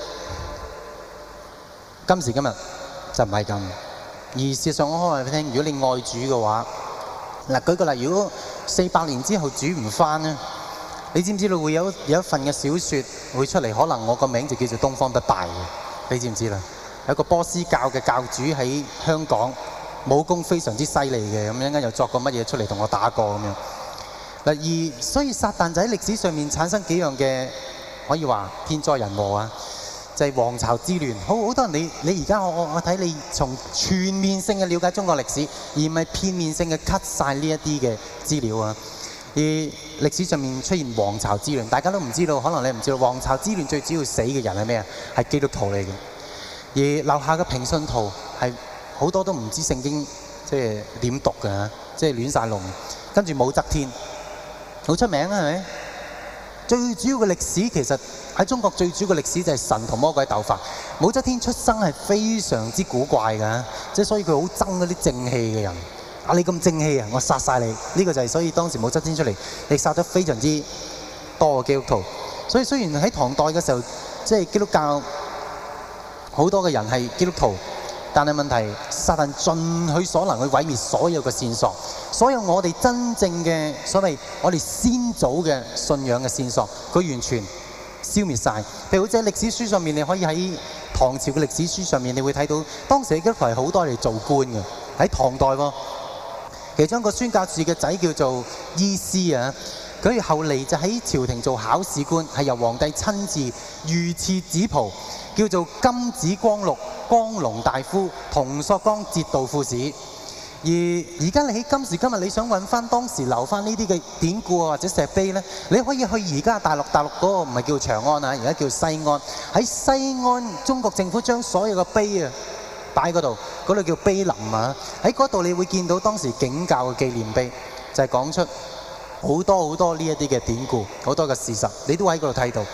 今時今日就唔係咁。而事實上，我可以話俾你聽，如果你愛主嘅話，嗱，舉個例，如果四百年之後主唔返咧，你知唔知道會有有一份嘅小説會出嚟？可能我個名就叫做東方不敗嘅，你知唔知啦？有一個波斯教嘅教主喺香港，武功非常之犀利嘅，咁一陣間又作個乜嘢出嚟同我打過咁樣。嗱，而所以撒旦就喺歷史上面產生幾樣嘅可以話天災人禍啊，就係王朝之亂。好好多人你你而家我我我睇你從全面性嘅了解中國歷史，而唔係片面性嘅 cut 晒呢一啲嘅資料啊。而歷史上面出現王朝之亂，大家都唔知道，可能你唔知道王朝之亂最主要死嘅人係咩啊？係基督徒嚟嘅。而留下嘅平信徒係好多都唔知聖經即係點讀嘅，即係亂晒龍。跟住武則天。好出名啊，係咪？最主要嘅歷史其實喺中國最主要嘅歷史就係神同魔鬼鬥法。武則天出生係非常之古怪㗎，即係所以佢好憎嗰啲正氣嘅人。啊，你咁正氣啊，我殺晒你！呢、這個就係所以當時武則天出嚟，亦殺咗非常之多嘅基督徒。所以雖然喺唐代嘅時候，即係基督教好多嘅人係基督徒。但係問題，撒旦盡佢所能去毀滅所有嘅線索，所有我哋真正嘅所謂我哋先祖嘅信仰嘅線索，佢完全消滅晒。譬如好似喺歷史書上面，你可以喺唐朝嘅歷史書上面，你會睇到當時嘅基督徒係好多嚟做官嘅，喺唐代喎。其中一個宣教士嘅仔叫做伊斯啊，佢後嚟就喺朝廷做考試官，係由皇帝親自御賜紫袍。叫做金紫光祿光龍大夫同朔剛節度副使。而而家你喺今時今日，你想揾翻當時留翻呢啲嘅典故啊或者石碑呢，你可以去而家大陸，大陸嗰個唔係叫長安啊，而家叫西安。喺西安，中國政府將所有嘅碑啊擺喺嗰度，嗰度叫碑林啊。喺嗰度你會見到當時景教嘅紀念碑，就係、是、講出好多好多呢一啲嘅典故，好多嘅事實，你都喺嗰度睇到。而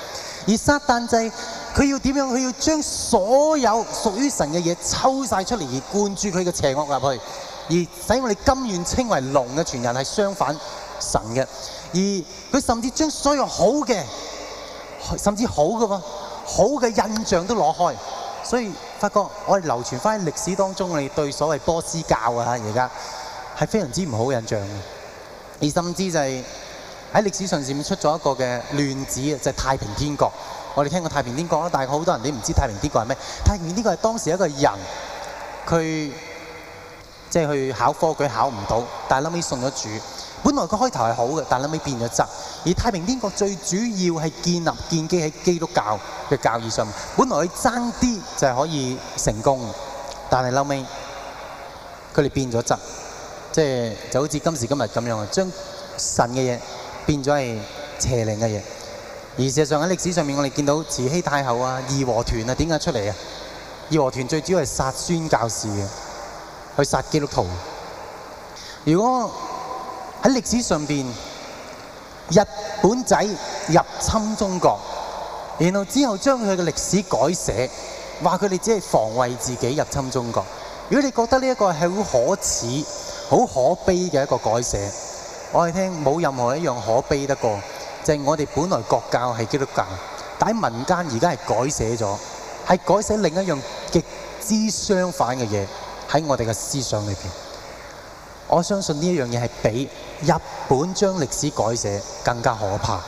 而撒旦就係佢要點樣？佢要將所有屬於神嘅嘢抽晒出嚟，而灌注佢嘅邪惡入去，而使我哋甘願稱為龍嘅傳人係相反神嘅。而佢甚至將所有好嘅，甚至好嘅喎，好嘅印象都攞開。所以發覺我哋流傳翻喺歷史當中，我哋對所謂波斯教啊，而家係非常之唔好嘅印象嘅。而甚至就係喺歷史上面出咗一個嘅亂子啊，就係太平天國。我哋聽過太平天國啦，但係好多人都唔知太平天國係咩。太平天國係當時一個人，佢即係去考科舉考唔到，但係後尾信咗主。本來佢開頭係好嘅，但係後尾變咗質。而太平天國最主要係建立建基喺基督教嘅教義上面。本來佢爭啲就係可以成功，但係後尾佢哋變咗質，即係就好似今時今日咁樣啊，將神嘅嘢變咗係邪靈嘅嘢。而事實上喺歷史上面，我哋見到慈禧太后啊、義和團啊，點解出嚟啊？義和團最主要係殺宣教士嘅，去殺基督徒。如果喺歷史上邊，日本仔入侵中國，然後之後將佢嘅歷史改寫，話佢哋只係防衛自己入侵中國。如果你覺得呢一個係好可恥、好可悲嘅一個改寫，我哋聽冇任何一樣可悲得過，就係我哋本來國教係基督教，但喺民間而家係改寫咗，係改寫另一樣極之相反嘅嘢喺我哋嘅思想裏邊。我相信呢一樣嘢係比日本將歷史改寫更加可怕。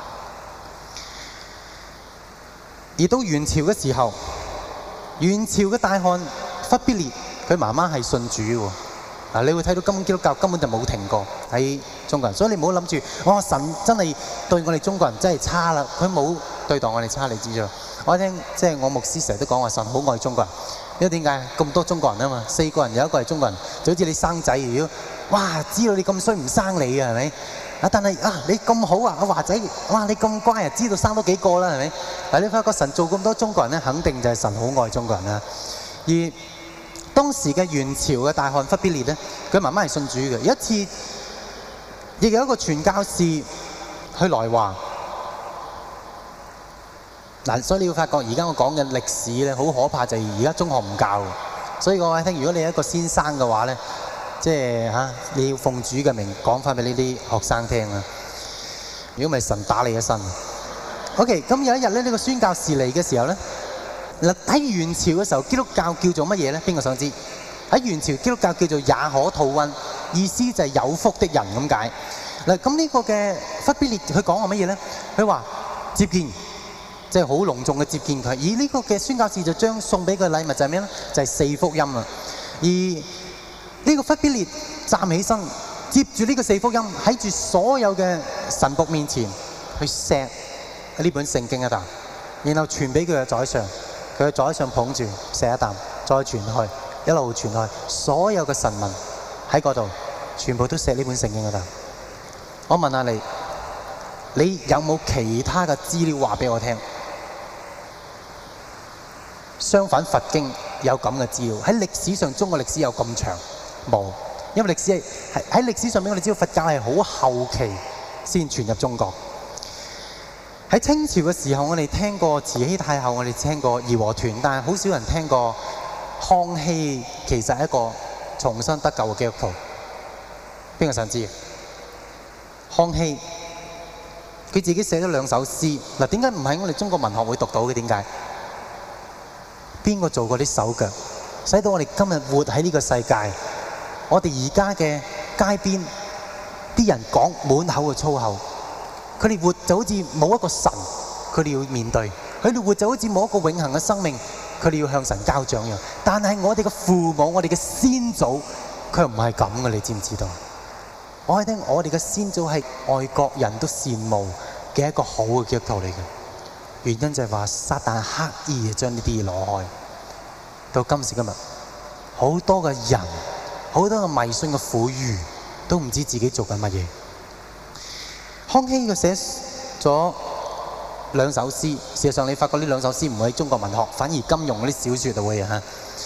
而到元朝嘅時候，元朝嘅大漢忽必烈，佢媽媽係信主喎。嗱，你會睇到根本基督教根本就冇停過喺中國人，所以你唔好諗住，哇！神真係對我哋中國人真係差啦，佢冇對待我哋差，你知唔知？我聽即係我牧師成日都講話神好愛中國人。因為點解咁多中國人啊嘛？四個人有一個係中國人，就好似你生仔，如果哇知道你咁衰唔生你啊，係咪？啊，但係啊你咁好啊，阿華仔，哇你咁乖啊，知道生多幾個啦，係咪？嗱，你發覺神做咁多中國人咧，肯定就係神好愛中國人啦。而當時嘅元朝嘅大漢忽必烈咧，佢媽媽係信主嘅。有一次，亦有一個傳教士去來華。嗱，所以你要發覺而家我講嘅歷史咧，好可怕，就係而家中學唔教。所以我話聽，如果你係一個先生嘅話咧，即係嚇你要奉主嘅名講翻俾呢啲學生聽啊！如果唔係神打你一身。OK， 咁有一日咧，呢個宣教士嚟嘅時候咧，嗱喺元朝嘅時候，基督教叫做乜嘢咧？邊個想知？喺元朝基督教叫做也可吐溫，意思就係有福的人咁解。嗱，咁呢個嘅忽必烈佢講話乜嘢咧？佢話接見。即係好隆重嘅接見佢，而呢個嘅宣教士就將送俾佢嘅禮物就係咩咧？就係四福音啦。而呢個忽必烈站起身，接住呢個四福音喺住所有嘅神僕面前去錫呢本聖經一啖，然後傳俾佢嘅宰相，佢嘅宰相捧住錫一啖，再傳去，一路傳去，所有嘅神民喺嗰度全部都錫呢本聖經一啖。我問下你，你有冇其他嘅資料話俾我聽？相反，佛經有咁嘅資料，喺歷史上中國歷史有咁長冇，因為歷史係喺歷史上面，我哋知道佛教係好後期先傳入中國。喺清朝嘅時候，我哋聽過慈禧太后，我哋聽過義和團，但係好少人聽過康熙其實係一個重新得救嘅基督徒。邊個想知？康熙佢自己寫咗兩首詩，嗱，點解唔喺我哋中國文學會讀到嘅？點解？邊個做過啲手腳，使到我哋今日活喺呢個世界？我哋而家嘅街邊啲人講滿口嘅粗口，佢哋活就好似冇一個神，佢哋要面對；佢哋活就好似冇一個永恆嘅生命，佢哋要向神交賬一樣。但係我哋嘅父母，我哋嘅先祖，佢唔係咁嘅，你知唔知道？我係聽我哋嘅先祖係外國人都羨慕嘅一個好嘅基督徒嚟嘅。原因就係話撒旦刻意將呢啲嘢攞開，到今時今日，好多嘅人，好多嘅迷信嘅婦孺，都唔知自己做緊乜嘢。康熙佢寫咗兩首詩，事實上你發覺呢兩首詩唔會喺中國文學，反而金庸嗰啲小説就會嚇。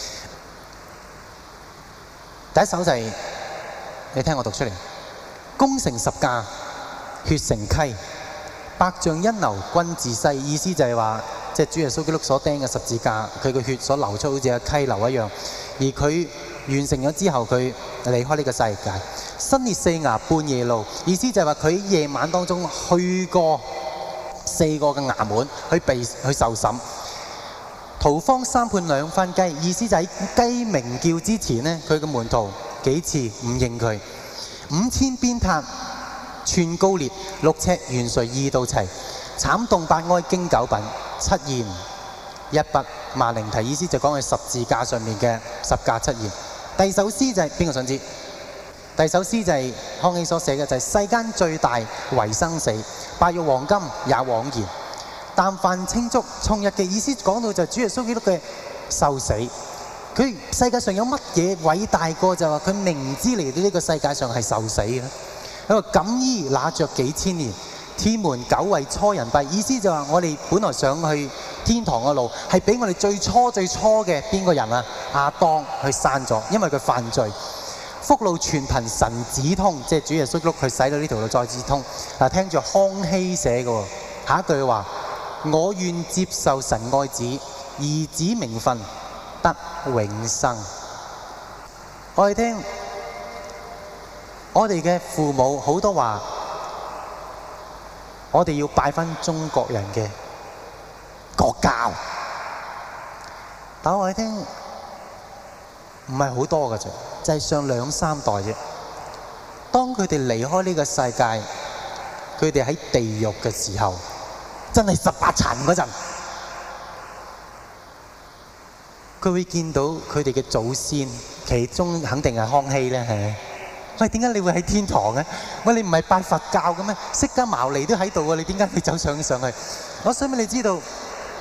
第一首就係、是、你聽我讀出嚟：功成十架，血成溪。 百丈恩流均自西，意思就係話，即係主耶穌基督所釘嘅十字架，佢嘅血所流出好似個溪流一樣。而佢完成咗之後，佢離開呢個世界。新列四衙半夜路，意思就係話佢喺夜晚當中去過四個嘅衙門去被去受審。屠方三判兩番雞，意思就喺雞鳴叫之前呢，佢嘅門徒幾次唔認佢。五千鞭撻，寸高裂，六尺懸垂二道齊，慘動八哀經九品，七言一筆萬靈題，意思就講佢十字架上面嘅十架七言。第二首詩就係邊個想知？第二首詩就係康熙所寫嘅，就係、是、世間最大為生死，白玉黃金也枉然。但凡清足從日嘅意思講到就係主耶穌基督嘅受死。佢世界上有乜嘢偉大過就話佢明知嚟到呢個世界上係受死嘅？佢話錦衣拿着幾千年，天門久為初人閉。意思就話我哋本來上去天堂嘅路係俾我哋最初最初嘅邊個人啊？亞當去閂咗，因為佢犯罪。福路全憑神指通，即係主耶穌基督佢使到呢條路再指通。嗱，聽住康熙寫嘅下一句話：我願接受神愛子，兒子名分得永生。我哋聽，我哋嘅父母好多話，我哋要拜返中國人嘅國教。但我哋聽唔係好多嘅啫，就係上兩三代啫。當佢哋離開呢個世界，佢哋喺地獄嘅時候，真係十八層嗰陣，佢會見到佢哋嘅祖先，其中肯定係康熙咧，係咪？喂，點解你會喺天堂嘅？喂，你唔係拜佛教嘅咩？釋迦牟尼都喺度啊，你點解會走上上去？我想俾你知道，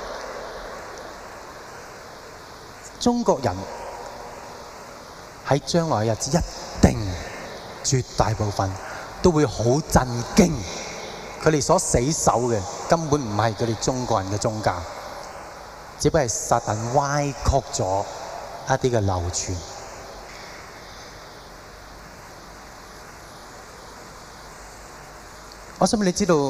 中國人喺將來嘅日子一定絕大部分都會好震驚，佢哋所死守嘅根本唔係佢哋中國人嘅宗教，只不過係撒旦歪曲咗一啲嘅流傳。我想俾你知道，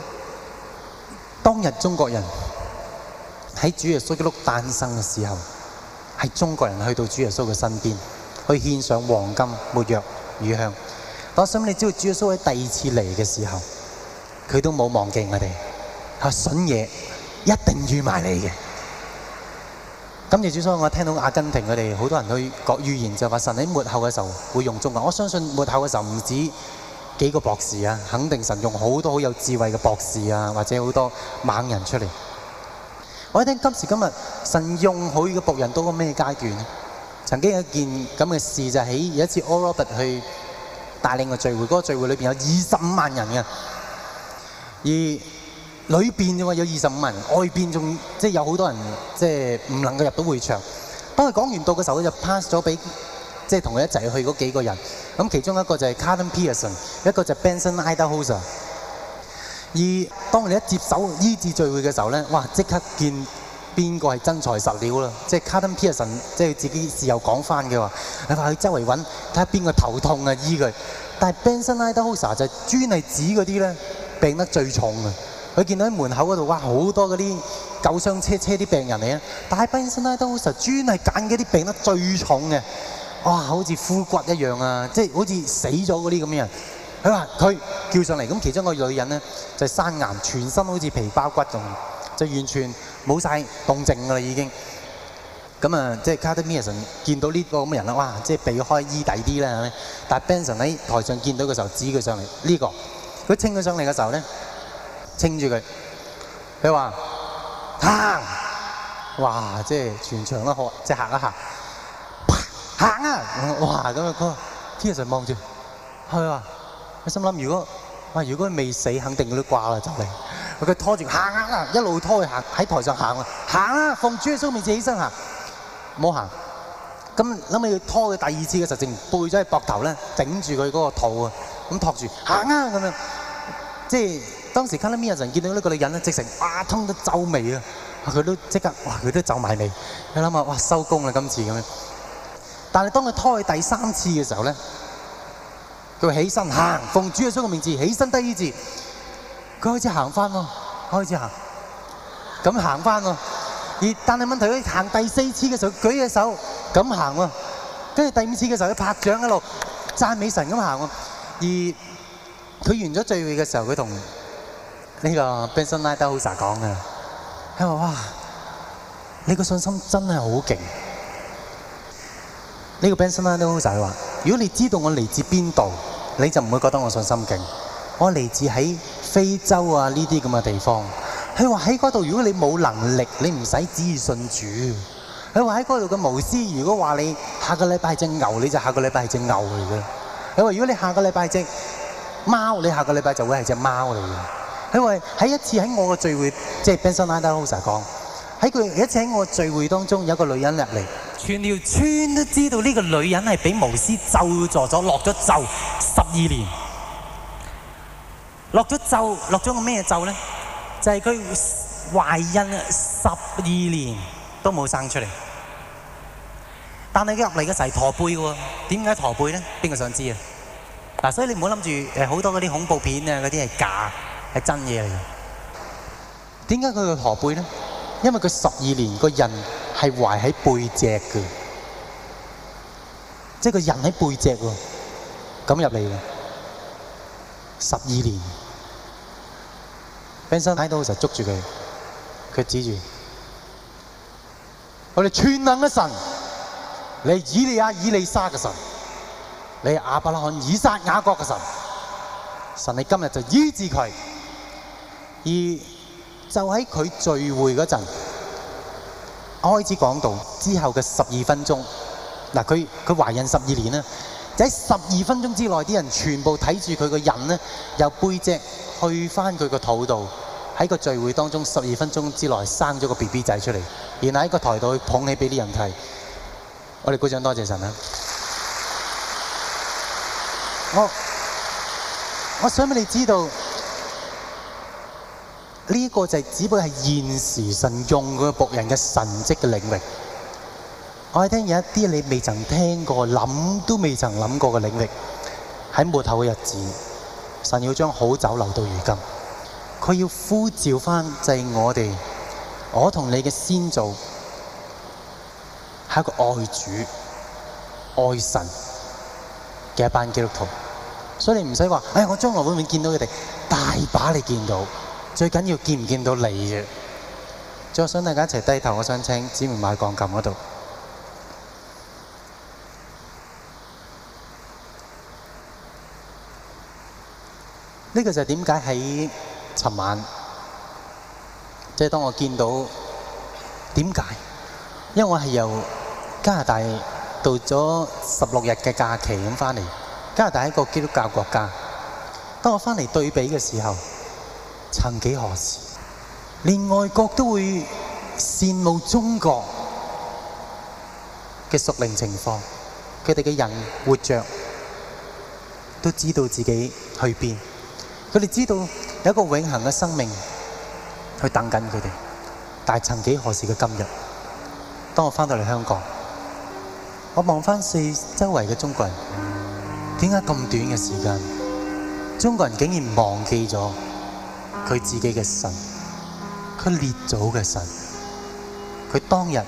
當日中國人喺主耶穌基督誕生嘅時候，係中國人去到主耶穌嘅身邊，去獻上黃金、沒藥、乳香。我想你知道，主耶穌喺第二次嚟嘅時候，佢都冇忘記我哋，係筍嘢一定預埋你嘅。今次主所以我聽到阿根廷佢哋好多人去講預言，就話神喺末後嘅時候會用中國。我相信末後嘅時候唔止幾個博士啊，肯定神用好多好有智慧嘅博士啊，或者好多猛人出嚟。我一聽今時今日神用佢嘅僕人到個咩階段呢？曾經有一件咁嘅事就係喺有一次 Oral Roberts 去帶領個聚會，嗰、那個聚會裏邊有二十五萬人嘅，而裏邊嘅話有二十五萬人，外邊仲即係有好多人即係唔能夠入到會場。當佢講完道嘅時候，佢就 pass 咗俾即係同佢一齊去嗰幾個人。咁其中一個就係 Carlton Pearson， 一個就係 Benson Idahosa。而當你一接手醫治聚會嘅時候咧，哇！即刻見邊個係真材實料啦！即係 Carlton Pearson， 即係自己事後講翻嘅話，你話去周圍揾睇下邊個頭痛啊醫佢。但係 Benson Idahosa 就專係指嗰啲咧病得最重嘅。佢見到喺門口嗰度，哇！好多嗰啲救傷車車啲病人嚟啊！但係 Benson Idahosa 專係揀嗰啲病得最重嘅。哇！好似枯骨一樣啊，即係好似死咗嗰啲咁嘅人。佢話佢叫上嚟，咁其中個女人咧就係生癌，全身好似皮包骨咁，就完全冇晒動靜㗎啦已經。咁啊，即係 Carlton Pearson 見到呢個咁嘅人啦，哇！即係避開醫第啲啦，係咪？但係 Benson 喺台上見到嘅時候，指佢上嚟呢個，佢稱佢上嚟嘅時候咧，稱住佢，佢話行，哇！即係全場都學，即係行一行。行啊！哇！咁啊，佢 Pearson 望住，佢話：佢心諗如果哇，如果佢未死，肯定佢都掛啦就嚟。佢拖住行啊，一路拖佢行喺台上行啊，行啊！奉主耶穌名字起身行，唔好行。咁諗起要拖佢第二次嘅時候，淨背咗喺膊頭咧，頂住佢嗰個肚啊，咁托住行啊咁樣。即係當時 Carlton Pearson見到呢個女人咧，直成哇通到皺眉啊！佢都即刻哇，佢都皺埋眉。你諗下，哇收工啦今次咁樣。但係當佢拖去第三次嘅時候咧，佢起身行，奉主耶穌嘅名字起身得醫治。 佢開始行翻喎，開始行，咁行翻喎。而但係問題佢行第四次嘅時候，舉隻手咁行喎，跟住第五次嘅時候，佢拍掌一路讚美神咁行喎。而佢完咗聚會嘅時候，佢同呢個 Benson Idahosa 講嘅，佢話：哇，你個信心真係好勁！呢個 Benson Idahosa 話：如果你知道我嚟自邊度，你就唔會覺得我信心勁。我嚟自喺非洲啊呢啲咁嘅地方。佢話喺嗰度，如果你冇能力，你唔使旨意信主。佢話喺嗰度嘅巫師，如果話你下個禮拜係隻牛，你就下個禮拜係隻牛嚟嘅。佢話如果你下個禮拜係隻貓，你下個禮拜就會係隻貓嚟嘅。佢話喺一次喺我嘅聚會，即係 Benson Idahosa講，喺佢一次喺我嘅聚會當中，有個女人入嚟，全條村都知道呢個女人係俾巫師咒詛咗，落咗咒十二年，落咗咒，落咗個咩咒咧？就係佢懷孕十二年都冇生出嚟，但係佢入嚟嘅時係駝背嘅喎。點解駝背咧？邊個想知啊？嗱，所以你唔好諗住誒好多嗰啲恐怖片啊，嗰啲係假，係真嘢嚟嘅。點解佢個駝背咧？因為佢十二年個人係懷喺背脊嘅，即係個人喺背脊喎，咁入嚟嘅十二年。Benson Idahosa捉住佢，佢指住我哋全能嘅神，你係以利亞、以利沙嘅神，你係亞伯拉罕、以撒、雅各嘅神。神你今日就醫治佢，而就喺佢聚會嗰陣，我開始講道之後嘅十二分鐘，嗱佢佢懷孕十二年啦，就喺十二分鐘之內，啲人全部睇住佢個人咧，由背脊去翻佢個肚度，喺個聚會當中十二分鐘之內生咗個 B B 仔出嚟，然後喺個台度捧起俾啲人睇。我哋鼓掌多謝神啦！我我想俾你知道，呢個就係只不過係現時神用佢僕人嘅神蹟嘅領域。我哋聽有一啲你未曾聽過、諗都未曾諗過嘅領域，喺末後嘅日子，神要將好酒留到如今。佢要呼召翻就係我哋，我同你嘅先祖係一個愛主、愛神嘅一班基督徒。所以你唔使話，哎，我將來會唔會見到佢哋？大把你見到，最緊要見唔見到你嘅。最後想大家一齊低頭，我想請姊妹買鋼琴嗰度。呢個就係點解喺尋晚，即係當我見到點解？因為我係由加拿大到咗十六日嘅假期咁翻嚟。加拿大係一個基督教國家。當我翻嚟對比嘅時候，曾幾何時，連外國都會羨慕中國嘅屬靈情況。佢哋嘅人活着都知道自己去邊。佢哋知道有一個永恆嘅生命去等緊佢哋，但係曾幾何時嘅今日，當我翻到嚟香港，我望翻四周圍嘅中國人，點解咁短嘅時間，中國人竟然忘記咗佢自己嘅神，佢列祖嘅神，佢當日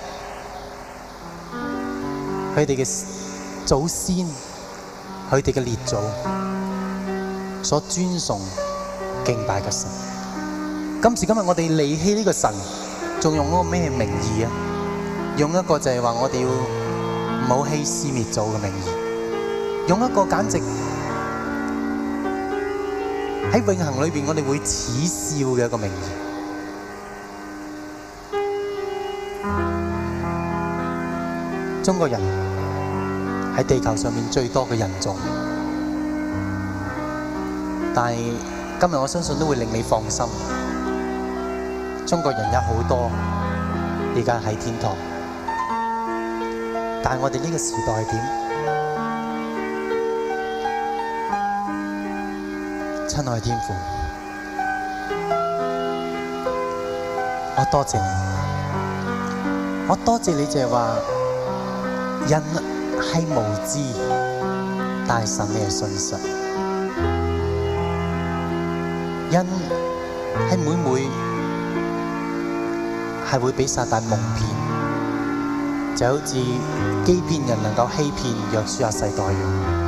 佢哋嘅祖先，佢哋嘅列祖所尊崇敬拜嘅神。今時今日我哋離棄呢個神，仲用嗰個咩名義啊？用一個就係話我哋要唔好欺師滅祖嘅名義，用一個簡直喺永恆裏邊我哋會恥笑嘅一個名義。中國人係地球上面最多嘅人種。但係今日我相信都會令你放心，中國人有好多而家喺天堂，但係我哋呢個時代係點？親愛的天父，我多謝你，我多謝你就係話人係無知，但係神你係信實。人係每每係會俾撒旦蒙騙，就好似欺騙人能夠欺騙約書亞世代一樣。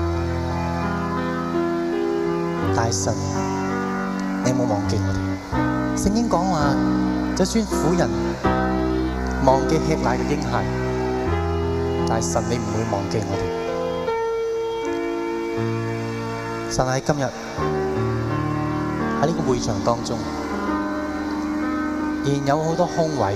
但係神，你冇忘記我哋。聖經講話，就算婦人忘記吃奶嘅嬰孩，但係神你唔會忘記我哋。神喺今日喺呢個會場當中，仍然有好多空位。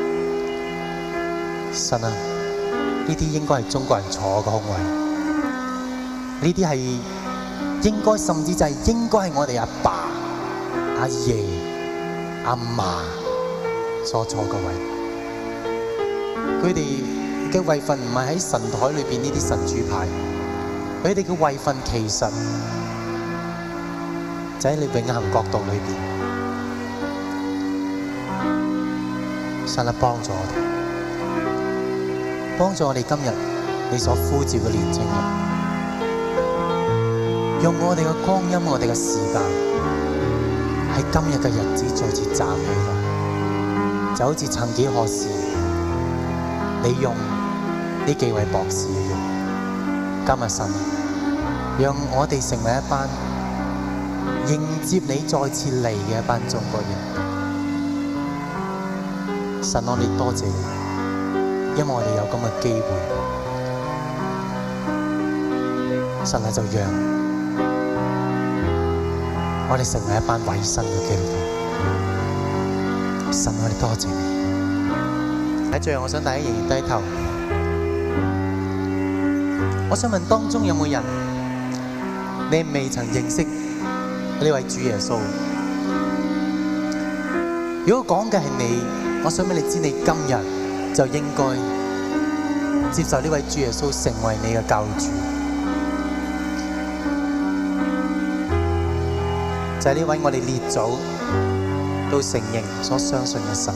神啊，呢啲應該係中國人坐嘅空位，呢啲係應該，甚至就係應該係我哋阿爸、阿爺、阿嫲所坐嘅位。佢哋嘅位份唔係喺神台裏邊呢啲神主牌，佢哋嘅位份其實就喺你永恆國度裏邊。神啊，幫助我哋，幫助我哋今日你所呼召嘅年青人，用我哋嘅光陰、我哋嘅時間，喺今日嘅日子再次站起來，就好似曾幾何時你用呢幾位博士一樣。今日神，讓我哋成為一班迎接你再次嚟嘅一班中國人。神，我哋多謝你，因為我哋有咁嘅機會。神啊，就讓我哋成為一班委身嘅基督徒。神，我哋多謝你。喺最後，我想大家仍然低頭。我想問當中有冇人，你未曾認識呢位主耶穌？如果講嘅係你，我想俾你知，你今日就應該接受呢位主耶穌成為你嘅救主。就係呢位我哋列祖都承認所相信嘅神。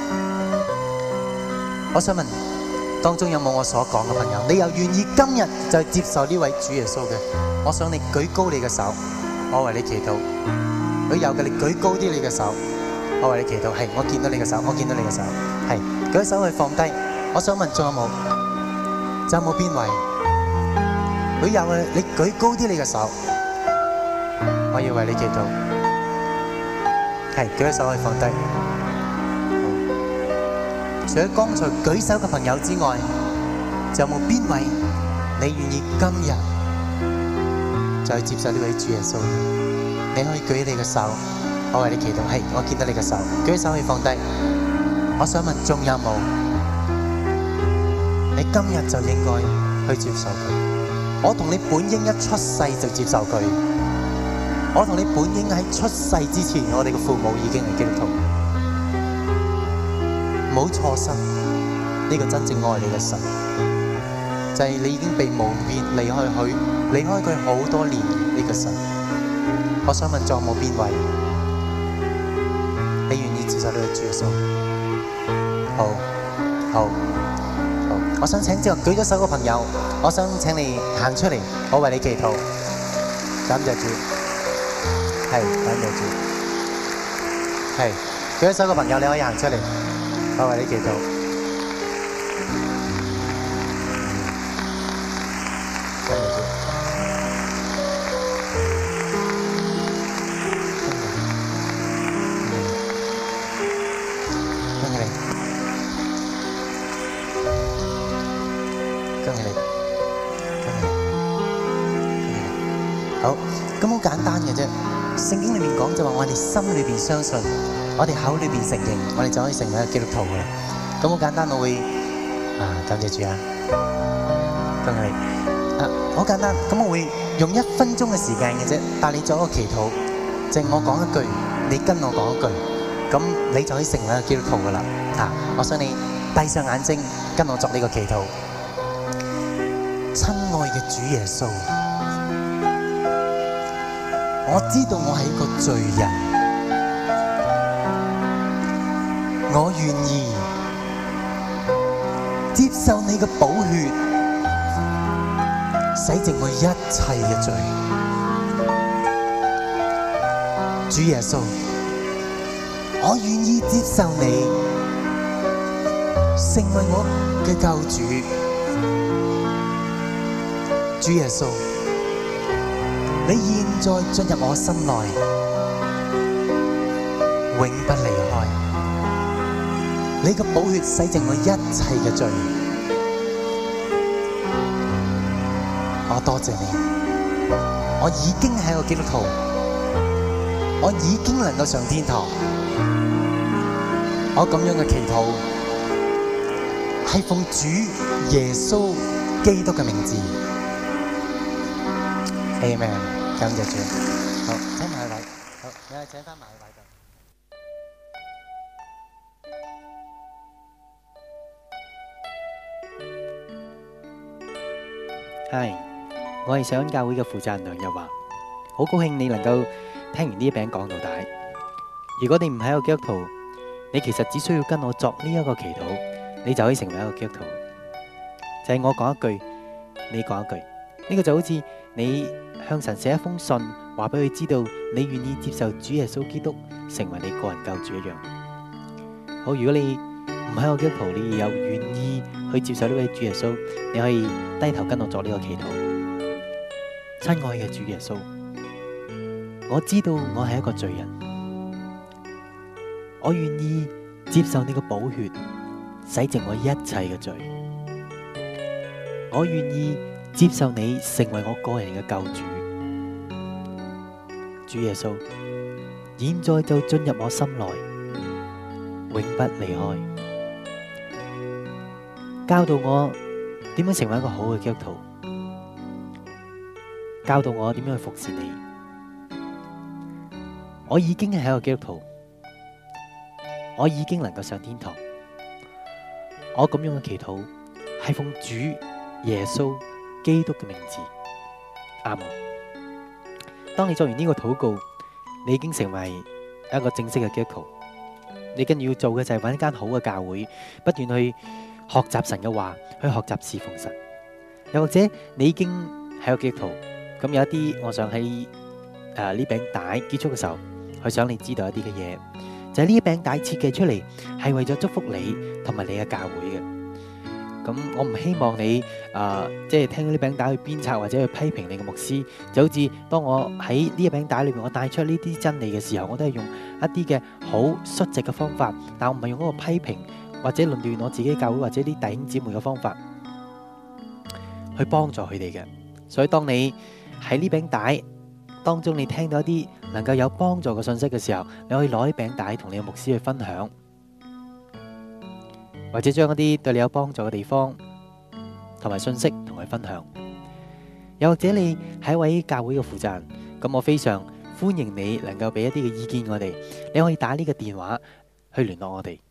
我想問當中有冇我所講嘅朋友？你又願意今日就接受呢位主耶穌嘅？我想你舉高你嘅手，我為你祈禱。如果有嘅，你舉高啲你嘅手，我為你祈禱。係，我見到你嘅手，我見到你嘅手。係，舉手去放低。我想問仲有冇？仲有冇邊位？如果有嘅，你舉高啲你嘅手，我要為你祈禱。係，舉手可以放低。除咗剛才舉手嘅朋友之外，仲有冇邊位你願意今日就去接受呢位主耶穌？你可以舉你嘅手，我為你祈禱。係，我見到你嘅手，舉手可以放低。我想問仲有冇？你今日就應該去接受佢。我同你本應一出世就接受佢。我同你本應喺出世之前，我哋嘅父母已經係基督徒。唔好錯失呢個真正愛你嘅神，就係你已經被蒙騙離開佢，離開佢好多年呢個神。我想問仲有冇邊位你願意接受呢個主耶穌？好，好，好。我想請之後舉咗手嘅朋友，我想請你行出嚟，我為你祈禱。感謝主，係感謝主，係舉咗手嘅朋友，你可以行出嚟。我為你祈禱。恭喜你，恭喜你，恭喜你，好，咁好簡單嘅啫。聖經裏面講就話，我哋心裏邊相信，我哋口裏邊承認，我哋就可以成為一個基督徒噶啦。咁好簡單，我會啊，感謝主啊，恭喜你啊，好簡單。咁我會用一分鐘嘅時間嘅啫，帶你做一個祈禱，淨我講一句，你跟我講一句，咁你就可以成為一個基督徒噶啦。啊，我想你閉上眼睛，跟我作呢個祈禱。親愛嘅主耶穌，我知道我係一個罪人，我願意接受你嘅寶血，洗淨我一切嘅罪。主耶穌， 我願意接受你成為我嘅救主。主耶穌，你現在進入我心內，永不離開。你嘅寶血洗淨我一切嘅罪。我多謝你，我已經係個基督徒，我已經能夠上天堂。我咁樣嘅祈禱係奉主耶穌基督嘅名字。Amen。感謝主。好，請埋位。好，你係請翻埋位度。係，我係上恩教會嘅負責人梁日華，好高興你能夠聽完呢一餅講到底。如果你唔係一個基督徒，你其實只需要跟我作呢一個祈禱，你就可以成為一個基督徒。就係我講一句，你講一句，呢個就好似你向神寫一封信，話俾佢知道你願意接受主耶穌基督成為你個人救主一樣。好，如果你唔係一個基督徒，你有願意去接受呢位主耶穌，你可以低頭跟我作呢個祈禱。親愛嘅主耶穌，我知道我係一個罪人，我願意接受你嘅寶血洗淨我一切嘅罪，我願意接受你成為我個人嘅救主。主耶穌，現在就進入我心內，永不離開。教導我點樣成為一個好嘅基督徒，教導我點樣去服侍你。我已經係一個基督徒，我已經能夠上天堂。我咁樣嘅祈禱係奉主耶穌基督嘅名字，阿門。當你做完呢個禱告，你已經成為一個正式嘅基督徒。你跟住要做嘅就係揾一間好嘅教會，不斷去學習神嘅話，去學習侍奉神。又或者你已經係個基督徒，咁有一啲，我想喺誒呢餅帶結束嘅時候，去想你知道一啲嘅嘢，就係呢餅帶設計出嚟係為咗祝福你同埋你嘅教會嘅。咁我唔希望你誒即係聽到呢餅帶去鞭策或者去批評你嘅牧師，就好似當我喺呢一餅帶裏邊我帶出呢啲真理嘅時候，我都係用一啲嘅好率直嘅方法，但我唔係用嗰個批評或者論斷我自己教會或者啲弟兄姊妹嘅方法去幫助佢哋嘅。所以當你喺呢餅帶當中，你聽到一啲能夠有幫助嘅信息嘅時候，你可以攞啲餅帶同你嘅牧師去分享，或者將一啲對你有幫助嘅地方同埋信息同佢分享。又或者你係一位教會嘅負責人，咁我非常歡迎你能夠俾一啲嘅意見我哋。你可以打呢個電話去聯絡我哋。